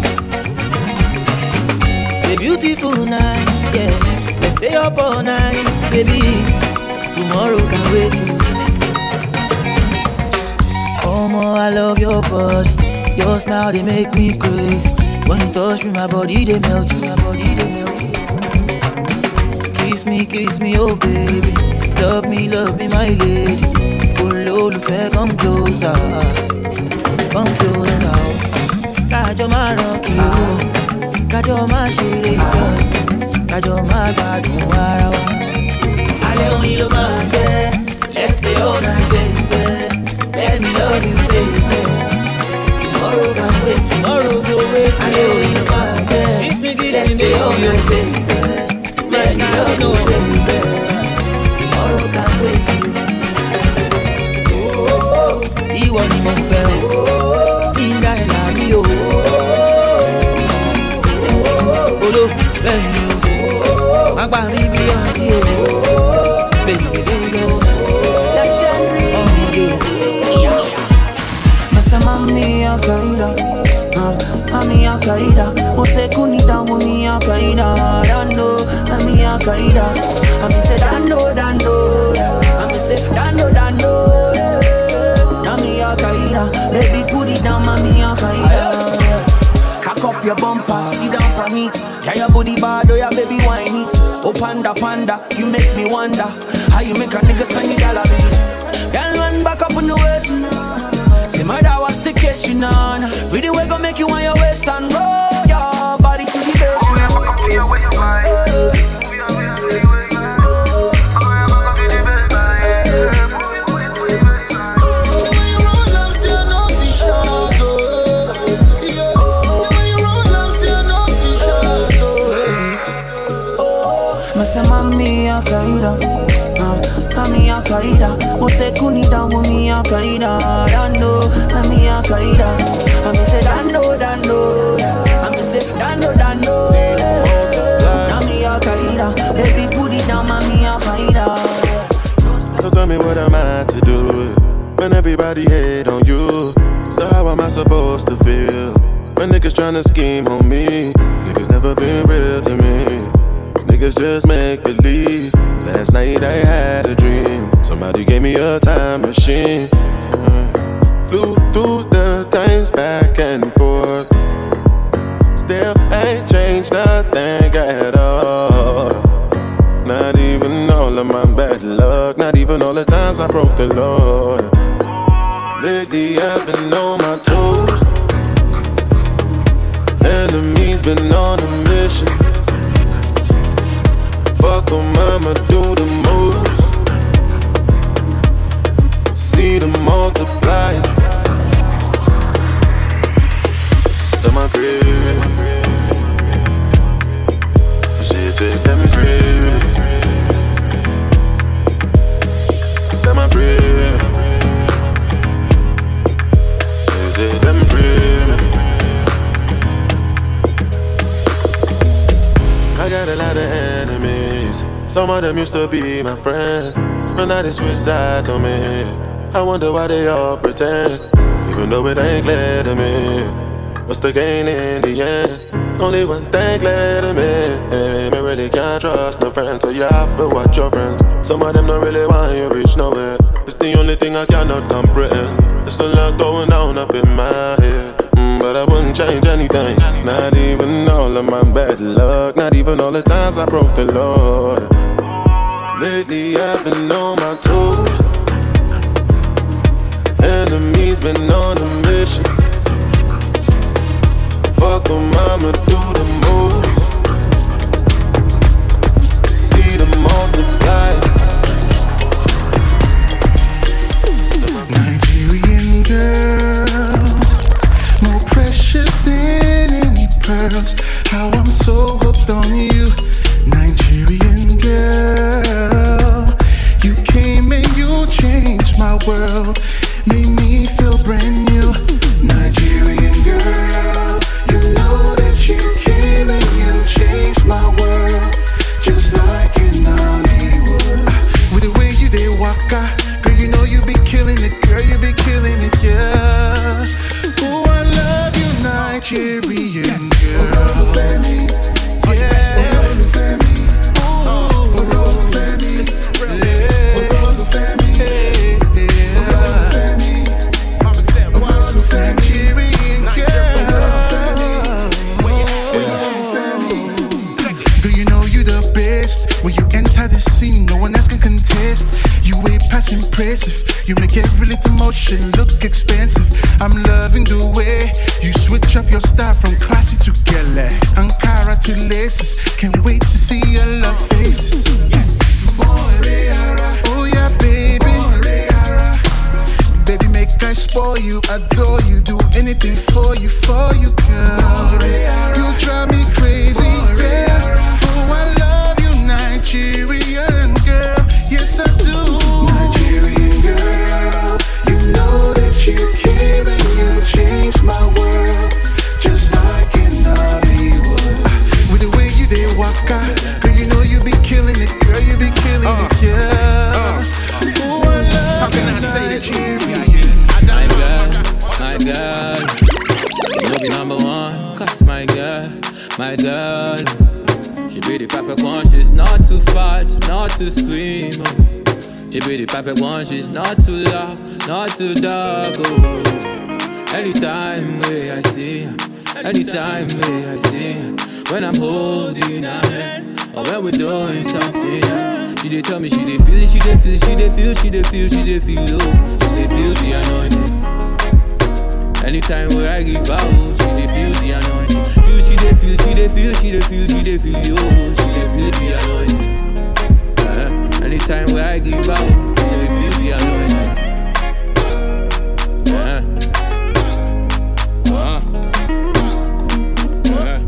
It's a beautiful night, yeah. Let's stay up all night, baby. Tomorrow can wait. Oh, more, I love your body. Your smile, they make me crazy. When you touch me, my body, they melt you. My body, they melt you. Kiss me, kiss me, oh baby. Love me, love me, my lady. Olólùfẹ́, come closer. Come closer. Kájọ máa rock you. Kájọ máa ṣeré ìfẹ́. Kájọ máa gbádùn ara wa. Alẹ́ oyin ló máa jẹ́. Let's stay all night, baby. Let me love you, baby. Tomorrow can wait, tomorrow go wait. Alẹ́ oyin ló máa jẹ́. Kiss me, kiss me, baby. you, baby, I know, baby. Tomorrow can't wait. Oh, ìwọ ni mo fẹ́ o, Cinderella mi o. Olólùfẹ́ mi o, má parí bí ọtí o. Baby, baby, o. Legendary. Masa mami Al-Qaeda, mami Al-Qaeda. Mo se kunida, mami Al-Qaeda. Dando, mami Al-Qaeda. Mami se dando, dando. Mami se dando, dando. Mami Al-Qaeda, baby put it down, mami Al-Qaeda. Cock up your bumper, sit down on it. Can your booty bad or your baby wine it? Oh panda, panda, you make me wonder how you make a nigga spend the dollar bill. Girl run back up on the waist, say murder what's the case, you know. Really way gon' make you on your waist and roll your body to the base. Mami Al-Qaeda, uh, Mami Al-Qaeda. Mo se kunida, mami Al-Qaeda. Dando, mami Al-Qaeda. Mami se dando, dando. Mami se dando, dando. Mami Al-Qaeda, baby put it down, mami Al-Qaeda. So tell me what am I to do when everybody hate on you? So how am I supposed to feel when niggas tryna scheme on me? Niggas never been real to me. Niggas just make believe. Last night I had a dream. Somebody gave me a time machine. uh, Flew through the times back and forth. Still ain't changed nothing at all. Not even all of my bad luck. Not even all the times I broke the law. Lately I've been on my toes. Enemies been on a mission. Fuck 'em, I'ma do the most. See them multiply. To my crib. She take them crib. To my crib. She take them crib. I got a lot of enemies. Some of them used to be my friends, but now they switch sides on me. I wonder why they all pretend, even though it ain't clear to me. What's the gain in the end? Only one thing clear to me. I really can't trust no friends, so you have to watch your friends. Some of them don't really want you reach nowhere. It's the only thing I cannot comprehend. There's a lot going down up in my head, mm, but I wouldn't change anything. Not even all of my bad luck. Not even all the times I broke the law. Lately I've been on my toes. Enemies been on a mission. Fuck 'em, I'ma do the most. See them multiply. Nigerian girl, more precious than any pearls. How I'm so hooked on you. Nigerian girl, you came and you changed my world, made me feel brand new. Nigerian girl, you know that you came and you changed my world, just like in Hollywood. With the way you did waka, girl, you know you be killing it, girl, you be killing it, yeah. Oh, I love you, Nigerian girl. Impressive, you make every little motion look expensive. I'm loving the way you switch up your style from classy to gala, Ankara to laces. Can't wait to see your love faces. Yes. Oh yeah, baby. Baby, make I spoil you, adore you, do anything for you, for you, girl. You drive me crazy, yeah. My girl, my girl, you be number one. Cause my girl, my girl, she be the perfect one. She's not too fat, not too slim. Oh. She be the perfect one. She's not too loud, not too dark. Oh. Anytime way I see her, anytime way I see her, when I'm holding her hand or when we're doing something, she dey tell me she dey feel it, she dey feel it, she dey feel, she dey feel, she dey feel low, she dey feel the anointing. Anytime where I give out, she dey feel the anointing. Feel, she dey feel, she dey feel, she dey feel, she dey feel low, she dey feel the anointing. Uh, anytime where I give out, she dey feel the anointing. Uh, uh, uh,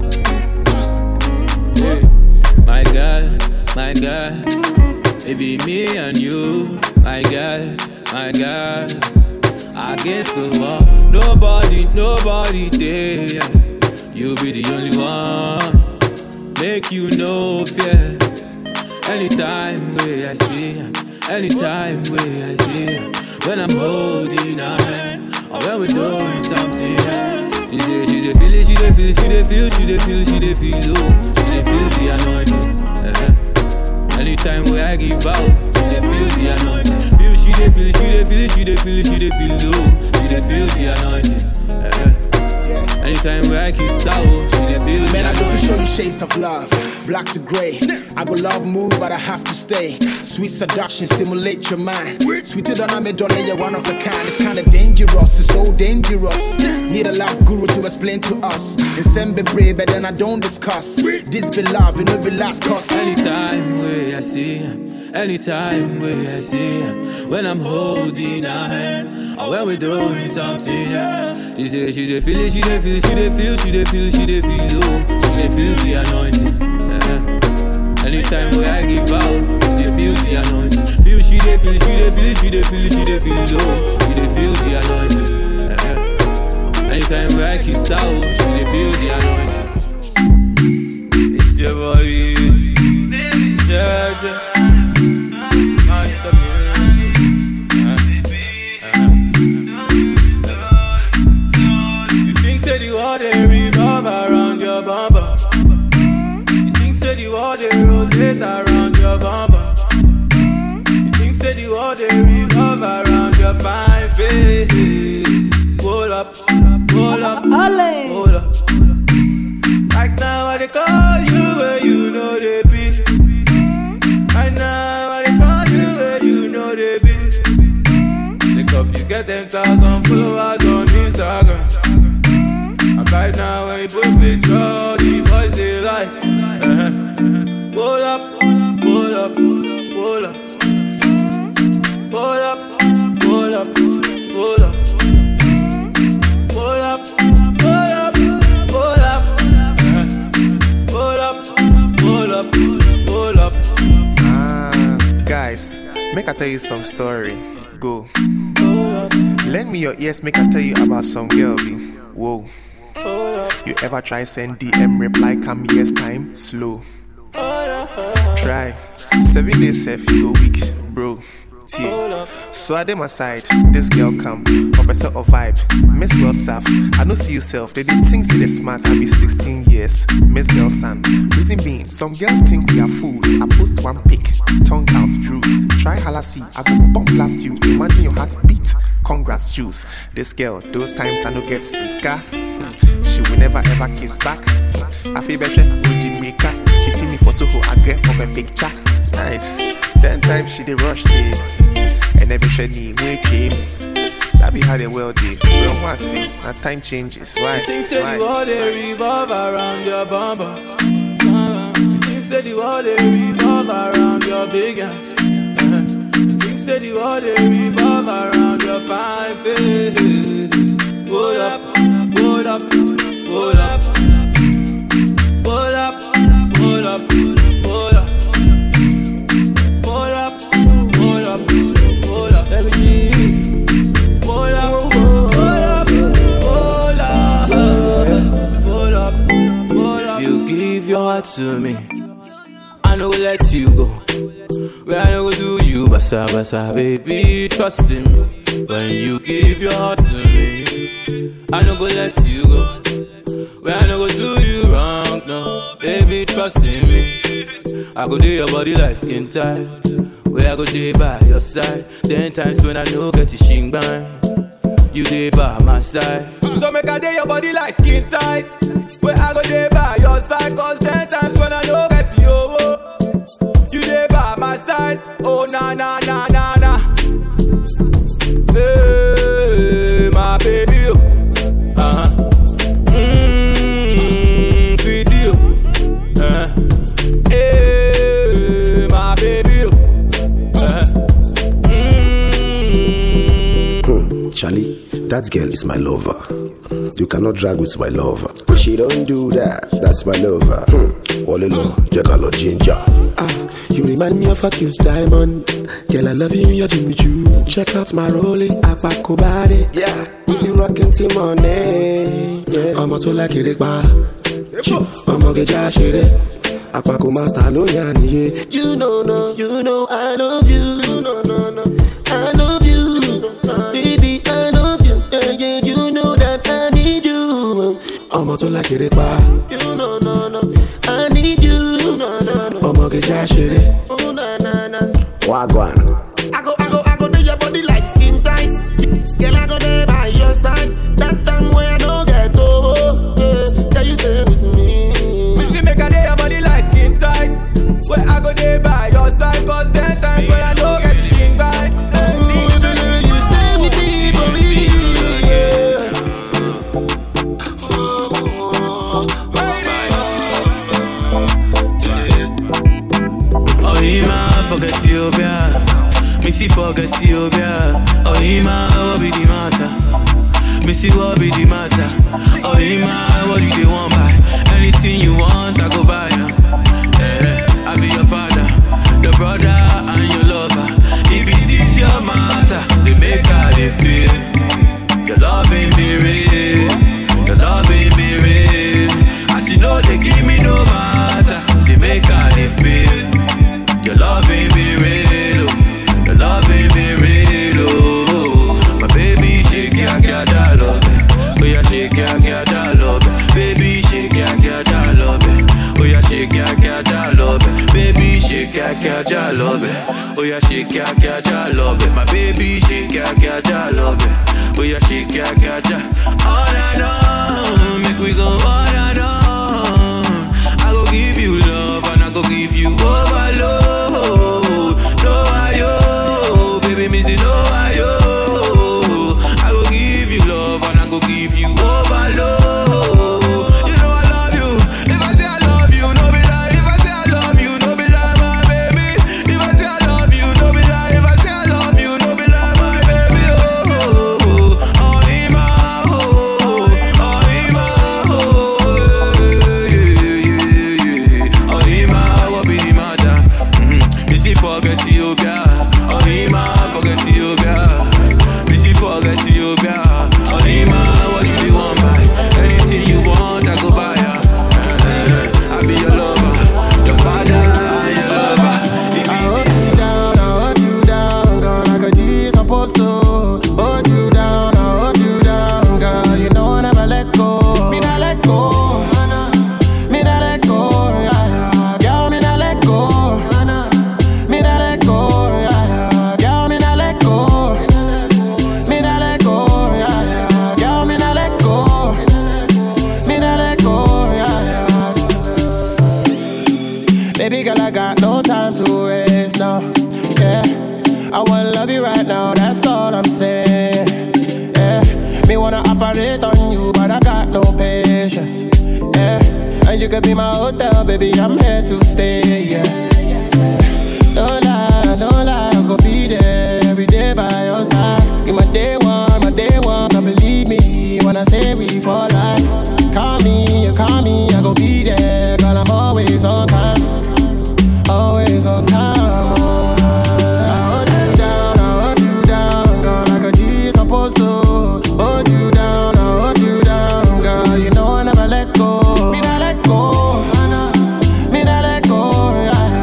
yeah. My girl, my girl, it be me and you, my girl, my girl. Against the wall, nobody, nobody there. You be the only one, make you no fear. Anytime where I see her, anytime where I see her, when I'm holding her hand or when we're doing something, she say she dey feel it, she dey feel, she dey feel, she dey feel, she dey feel low, she dey feel the anointing. Uh-huh. Anytime where I give out, she dey feel the anointing. Feel, she dey feel, she dey feel, she dey feel, she dey feel low, she dey feel the anointing. Uh-huh. Anytime where I kiss out, she dey feel the Man, I anointing. go to show you shades of love, black to gray. I go love move, but I have to stay. Sweet seduction, stimulate your mind. Sweeter than I'm a dollar, you're one of a kind. It's kinda dangerous, it's so dangerous. Need a love guru to explain to us. And send be brave, but then I don't discuss. This be love, it will be last cause. Anytime where I see her, anytime where I see her, when I'm holding her hand or when we're doing something, yeah. She say she dey feel it, she dey feel, she dey feel, she dey feel, she dey feel low, she dey feel the anointing. Uh-huh. Anytime where I give out, she dey feel the anointing. Feel, she dey feel, she dey feel, she dey feel, she dey feel low, she dey feel the anointing. Uh-huh. Anytime where I kiss out, she dey feel the anointing. It's your boy, yeah, yeah. Master music. You think say the world they revolve around your bumper? You think say the world they rotate around your bumper? You think say the world they revolve around your fine face? Hold up, hold up, hold up. Right now I they call you where you know they be. Right now I they call you where you know they be. Think of you get ten thousand followers on Instagram. And right now when you put picture, the boys they like. Uh-huh. Hold up, hold up, hold up. Hold up, hold up, hold up. Hold up, hold up, hold up. Uh-huh. Hold up, hold up, hold up. Ah, guys, make I tell you some story. Go. Lend me your ears, make I tell you about some girl. Be. Whoa. You ever try send D M reply come yes time? Slow. Try. Seven days safe you go weak, bro. T. So I dem aside, this girl come, up a sort of vibe. Miss World Saf, I don't see yourself. They did think say they smart, I be sixteen years. Miss Girl Son. Reason being, some girls think we are fools. I post one pic, tongue out drugs. Try halassi, I go bomb blast you. Imagine your heart beat. Congrats, juice. This girl, those times I no get sicker. She will never ever kiss back. I feel better with the maker. She see me for Soho, I grab up a picture. Nice. Ten times she did rush it. And every shady we came. That be how the world did. We don't want to see. Now time changes. Why? You think say Why? the world they revolve around your bumper? Uh-huh. You think say the world they revolve around your big ass? Uh-huh. You think say the world they revolve around your fine face? Hold up, hold up, hold up, hold up, hold up, hold up, hold up, hold up, hold up, everything. Hold up, hold up, hold up, hold up, hold up. If you give your heart to me, I no go let you go. Where I no go do you, but basa basa, baby, trust in me. When you give your heart to me, I no go let you go. When I no go do you wrong, no, baby, trust in me. I go do your body like skin tight. Where I go day by your side. Ten times when I know get you shing bang, you day by my side. So make I day your body like skin tight. Where I go day by your side. Cause ten times when I know get you, oh, you day by my side. Oh na na na na na. Hey, my baby, uh-huh. Mmm, sweet you, uh-huh. Hey, my baby, uh-huh. Hmm, Charlie, that girl is my lover. You cannot drag with my lover. She don't do that, that's my lover. Hmm, all alone, Jacalo Ginger. Ah, you remind me of a Q's diamond. Girl, I love you, you're Jimmy Choo. Check out my rolling, Apako body. Yeah, we be rocking till morning. Yeah, I'm a to like it, ba. I'm a get Josh, Apako master, no yanni. Yeah, you know, no, you know, I love you. No, no, no, I love you, baby, I love you. Yeah, yeah, you know that I need you. I'm a to like it, ba. You know, no, no, I need you. No, no, no, I'm a get Josh, oh, na, na, na. Wagwan. I go, I go, I go do your body like skin tight. Girl, I go there by your side. That time where I don't get over. Yeah, can you stay with me? We see make a day your body like skin tight. Where I go there by your side. Cause that time where I don't get skin tight. You stay with me for real, yeah. Oh, yeah, forget Ethiopia. Missy forget Ethiopia. Oh, Ima, what be the matter? Missy, what be the matter? Oh, Ima, what do you want buy? Anything you want, I go buy now. Eh, I be your father, your brother, and your lover. If it is your matter, they make how they feel. Your love ain't be real. Your love ain't be real. As you know, they give me no matter. They make how they feel. Your love ain't be real, oh. Your love ain't be real, oh. My baby shake ya ya da love, oh yeah shake ya ya da love, baby shake ya ya da love, oh yeah shake ya ya da love, baby shake ya ya da love, oh yeah shake ya ya da love, my baby shake ya ya da love, oh yeah shake ya ya da. All and on, make we go all and on. I go give you love and I go give you overload. Give you overload. You know I love you. If I say I love you, no be lie. If I say I love you, no be lie, my baby. If I say I love you, no be lie. If I say I love you, no be lie, my baby. Oh, oh, oh, oh, Ima, oh, oh, Ima, oh, yeah, yeah, yeah. Oh, Ima, what be the matter? Mm-hmm. Missy forget Ethiopia. Oh, Ima, forget Ethiopia. Missy forget Ethiopia. Oh, Ima. You could be my hotel, baby, I'm here to stay, yeah. No lie, no lie, I go be there every day by your side. You my day one, my day one, can't believe me when I say we for life. Call me, you call me, I go be there, girl, I'm always on time. Always on time, oh. I hold you down, I hold you down, girl, like a G is supposed to. Hold you down, I hold you down, girl, you know I never let go. Me not let go, me not let go, yeah.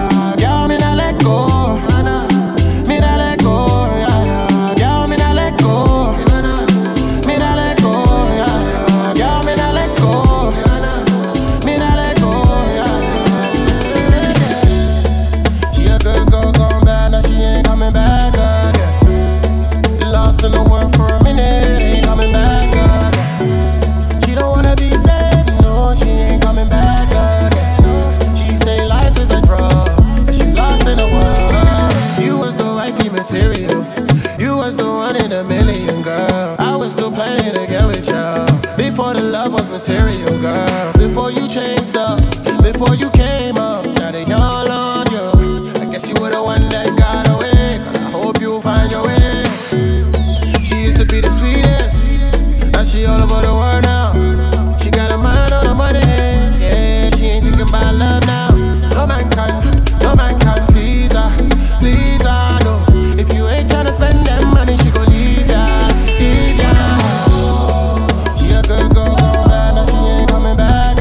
was the one in a million, girl. I was still planning to get with y'all. Before the love was material, girl. Before you changed up, before you came up, now they all on you. I guess you were the one that got away, but I hope you find your way. She used to be the sweetest, now she all over the world now. She got a mind on the money, yeah, she ain't thinking about love now. No man can, no man can please her, please her, no. If you ain't tryna spend that money, she gon' leave ya, leave ya. She a good girl, gone bad, now she ain't coming back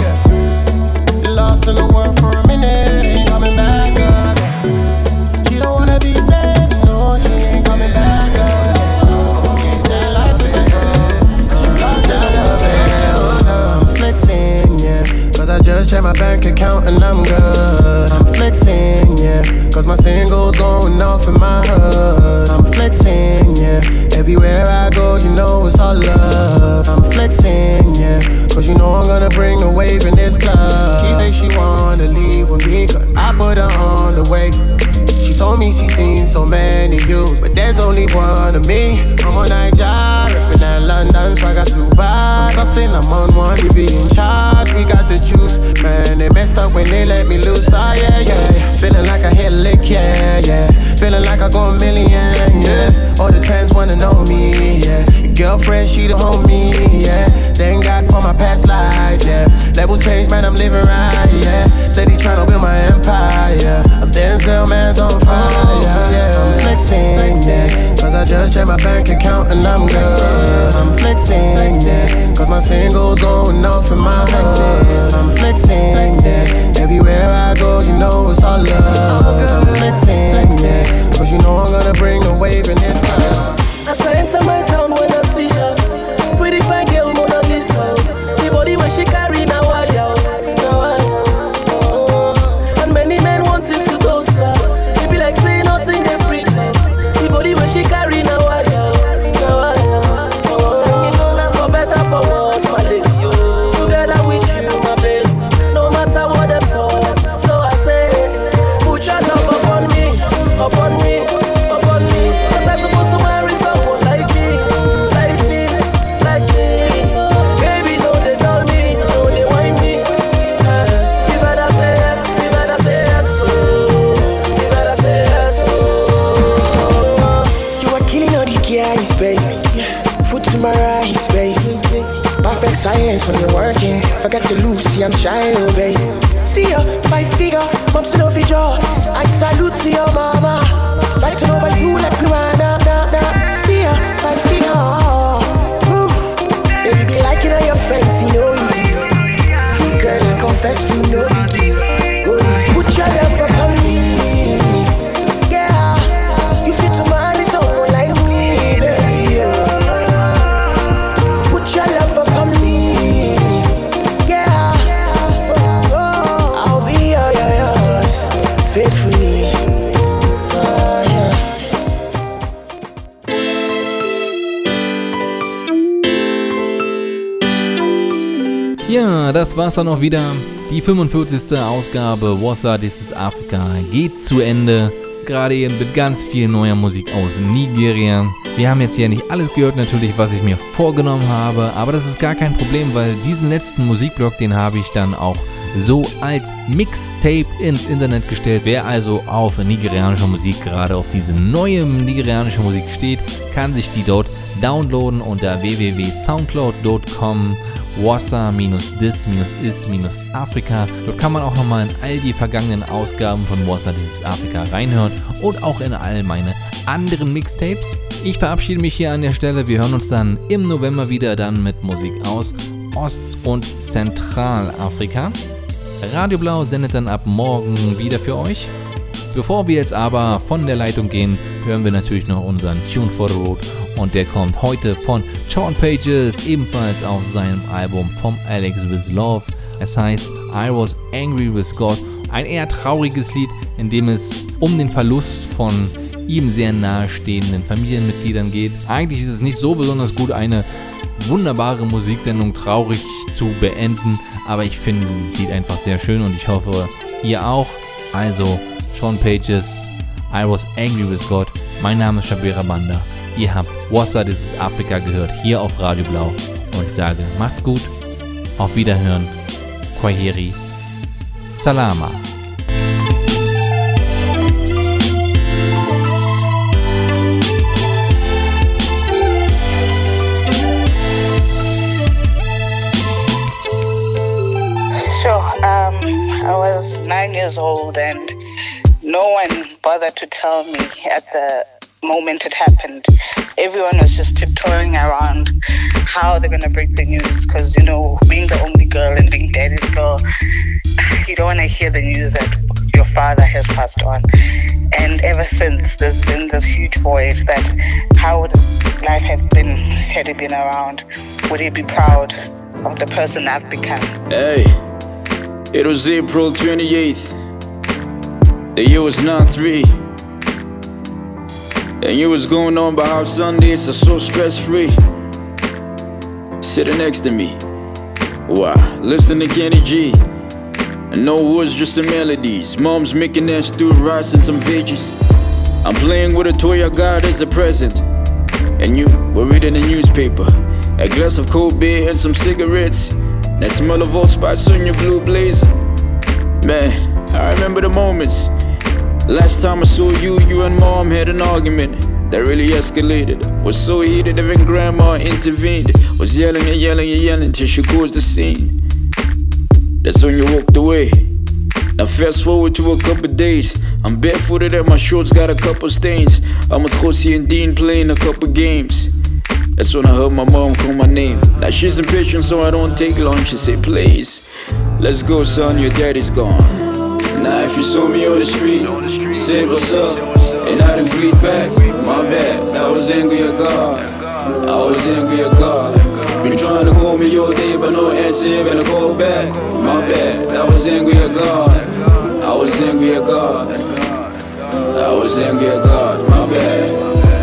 again. Lost in the world for a minute, ain't coming back again. She don't wanna be sad, no, she ain't coming back again. She said life is a drug, but she lost that love, yeah. I'm flexing, yeah, cause I just checked my bank account and I'm good. I'm flexing, yeah, cause my singles going off in my hood. I'm flexing, yeah, everywhere I go, you know it's all love. I'm flexing, yeah, cause you know I'm gonna bring the wave in this club. She say she wanna leave with me cause I put her on the way. She told me she seen so many views, but there's only one of me. I'm on Nigeria, reppin' that London, so I got two vibes. I'm sussin', I'm on one, we be in charge. We got the juice, man, they messed up when they let me loose. Ah, yeah, yeah, feeling like I hit a lick, yeah, yeah. Feeling like I go a million, yeah. All the trends wanna know me, yeah. Girlfriend, she the homie, yeah. Thank God for my past life, yeah. Level change, man, I'm living right, yeah. Steady tryna build my empire, yeah. I'm Denzel, man's on fire, yeah. I'm flexing, yeah, cause I just checked my bank account and I'm good. I'm flexing, yeah, cause my singles going off in my hood. I'm flexing, yeah, everywhere I go, you know it's all love. I'm flexing, yeah, cause you know I'm gonna bring a wave in this club. As I enter my town when I see her, pretty fine girl Mona Lisa. The body when she carry now I out, now I out. And many men wanting to toast her. They be like say nothing they freak her. The body when she carry now I out, now I out. And you know that for better for worse, my lady. Together with you, my baby. No matter what them talk, so I say, put your love upon me, upon me, upon me. Cause I'm supposed to marry someone like me, like me, like me. Baby, don't they tell me, don't they whine me. uh, You better say yes, you better say yes, oh. You better say yes, oh. You are killing all the guys, baby. Foot to my eyes, baby. Perfect silence when you're working. Forget to lose, see I'm shy, oh baby. See ya, five figure, mom's still over jaw. I salute to your mama. Right turn over you like piranha, nah, nah. See ya, five figure. Ooh, baby be liking all your friends, you know easy. Hey girl, I confess to no biggie. Oh, put your love upon me. Yeah, you fit to marry someone like me, baby. Yeah. Put your love upon me. Yeah, oh, oh, I'll be your, your, yours faithfully. Oh, yeah. Ja, das war's dann auch wieder. Die fünfundvierzigste Ausgabe Wassa, This is Africa geht zu Ende. Gerade eben mit ganz viel neuer Musik aus Nigeria. Wir haben jetzt hier nicht alles gehört natürlich, was ich mir vorgenommen habe, aber das ist gar kein Problem, weil diesen letzten Musikblock, den habe ich dann auch so als Mixtape ins Internet gestellt. Wer also auf nigerianische Musik, gerade auf diese neue nigerianische Musik steht, kann sich die dort downloaden unter w w w punkt soundcloud punkt com Wassa this is Africa. Dort kann man auch nochmal in all die vergangenen Ausgaben von Wassa This is Africa reinhören und auch in all meine anderen Mixtapes. Ich verabschiede mich hier an der Stelle. Wir hören uns dann im November wieder dann mit Musik aus Ost- und Zentralafrika. Radio Blau sendet dann ab morgen wieder für euch. Bevor wir jetzt aber von der Leitung gehen, hören wir natürlich noch unseren Tune for the Road und der kommt heute von Sean Pages, ebenfalls auf seinem Album From Alex with Love. Es heißt I Was Angry with God, ein eher trauriges Lied, in dem es um den Verlust von ihm sehr nahestehenden Familienmitgliedern geht. Eigentlich ist es nicht so besonders gut, eine wunderbare Musiksendung traurig zu beenden, aber ich finde dieses Lied einfach sehr schön und ich hoffe, ihr auch. Also Sean Pages, I Was Angry With God. Mein Name ist Shabira Banda. Ihr habt Wassa, This Is Africa gehört, hier auf Radio Blau. Und ich sage, macht's gut, auf Wiederhören, Kwaheri, Salama. Sure. Um, I was nine years old and no one bothered to tell me at the moment it happened. Everyone was just tiptoeing around how they're going to break the news because, you know, being the only girl and being daddy's girl, you don't want to hear the news that your father has passed on. And ever since, there's been this huge voice that how would life have been had he been around? Would he be proud of the person I've become? Hey. It was April twenty-eighth. The year was nine three. And you was going on about how Sundays are so stress-free. Sitting next to me, wow, listening to Kenny G. And no words, just some melodies. Mom's making that stewed rice and some veggies. I'm playing with a toy I got as a present. And you were reading the newspaper. A glass of cold beer and some cigarettes. That smell of Old Spice on your blue blazer. Man, I remember the moments. Last time I saw you, you and Mom had an argument that really escalated. Was so heated even Grandma intervened. Was yelling and yelling and yelling till she caused the scene. That's when you walked away. Now fast forward to a couple days. I'm barefooted and my shorts got a couple stains. I'm with Josie and Dean playing a couple games. That's when I heard my mom call my name. Now she's impatient so I don't take long. She said, please, let's go son, your daddy's gone. Now if you saw me on the street, say what's up, and I didn't greet back, my bad, I was angry at God. I was angry at God. Been trying to call me all day but no answer when I call back. My bad, I was angry at God. I was angry at God. I was angry at God, my bad.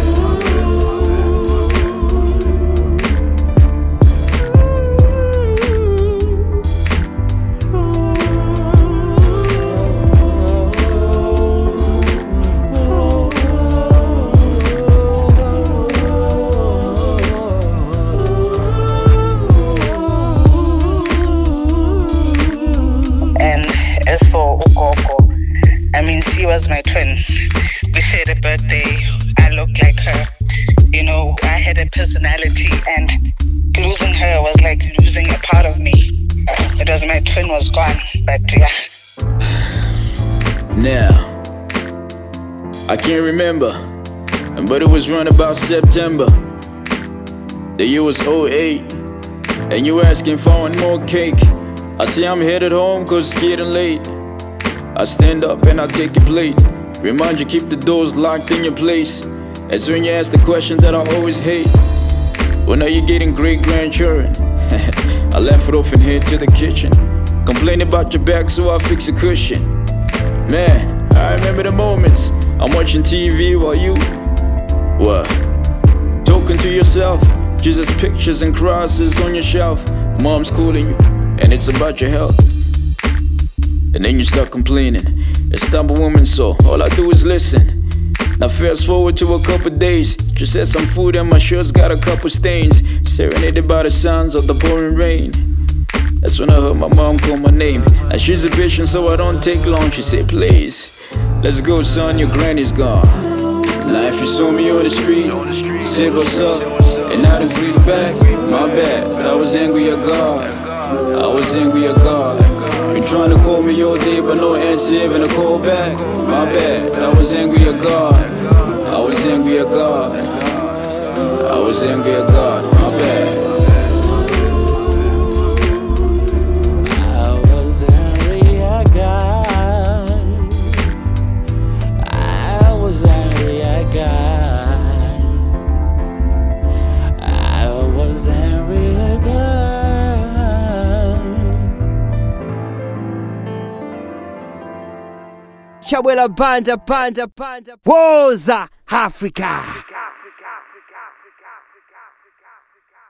As for Ukoko, I mean, she was my twin. We shared a birthday. I looked like her. You know, I had a personality, and losing her was like losing a part of me. It was my twin was gone, but yeah. Now, I can't remember, but it was around about September. The year was oh eight, and you asking for one more cake. I say I'm headed home cause it's getting late. I stand up and I take your plate. Remind you keep the doors locked in your place. That's when you ask the question that I always hate. When are you getting great grandchildren? I left it off and head to the kitchen. Complain about your back so I fix a cushion. Man, I remember the moments. I'm watching T V while you, what? Talking to yourself. Jesus pictures and crosses on your shelf. Mom's calling you. And it's about your health. And then you start complaining. It's time a woman, so all I do is listen. Now fast forward to a couple days. Just had some food and my shirt's got a couple stains. Serenaded by the sounds of the pouring rain. That's when I heard my mom call my name. Now she's a bitch so I don't take long. She said, please, let's go son, your granny's gone. Now if you saw me on the street, say what's up, and I didn't greet back, my bad, I was angry at God. I was angry at God. Been trying to call me all day but no answer when I call back. My bad, I was angry at God. I was angry at God. I was angry at God, my bad. I was angry at God. I was angry at God. I was angry at God. Chawela Banda, Banda, Banda, Woza, Africa.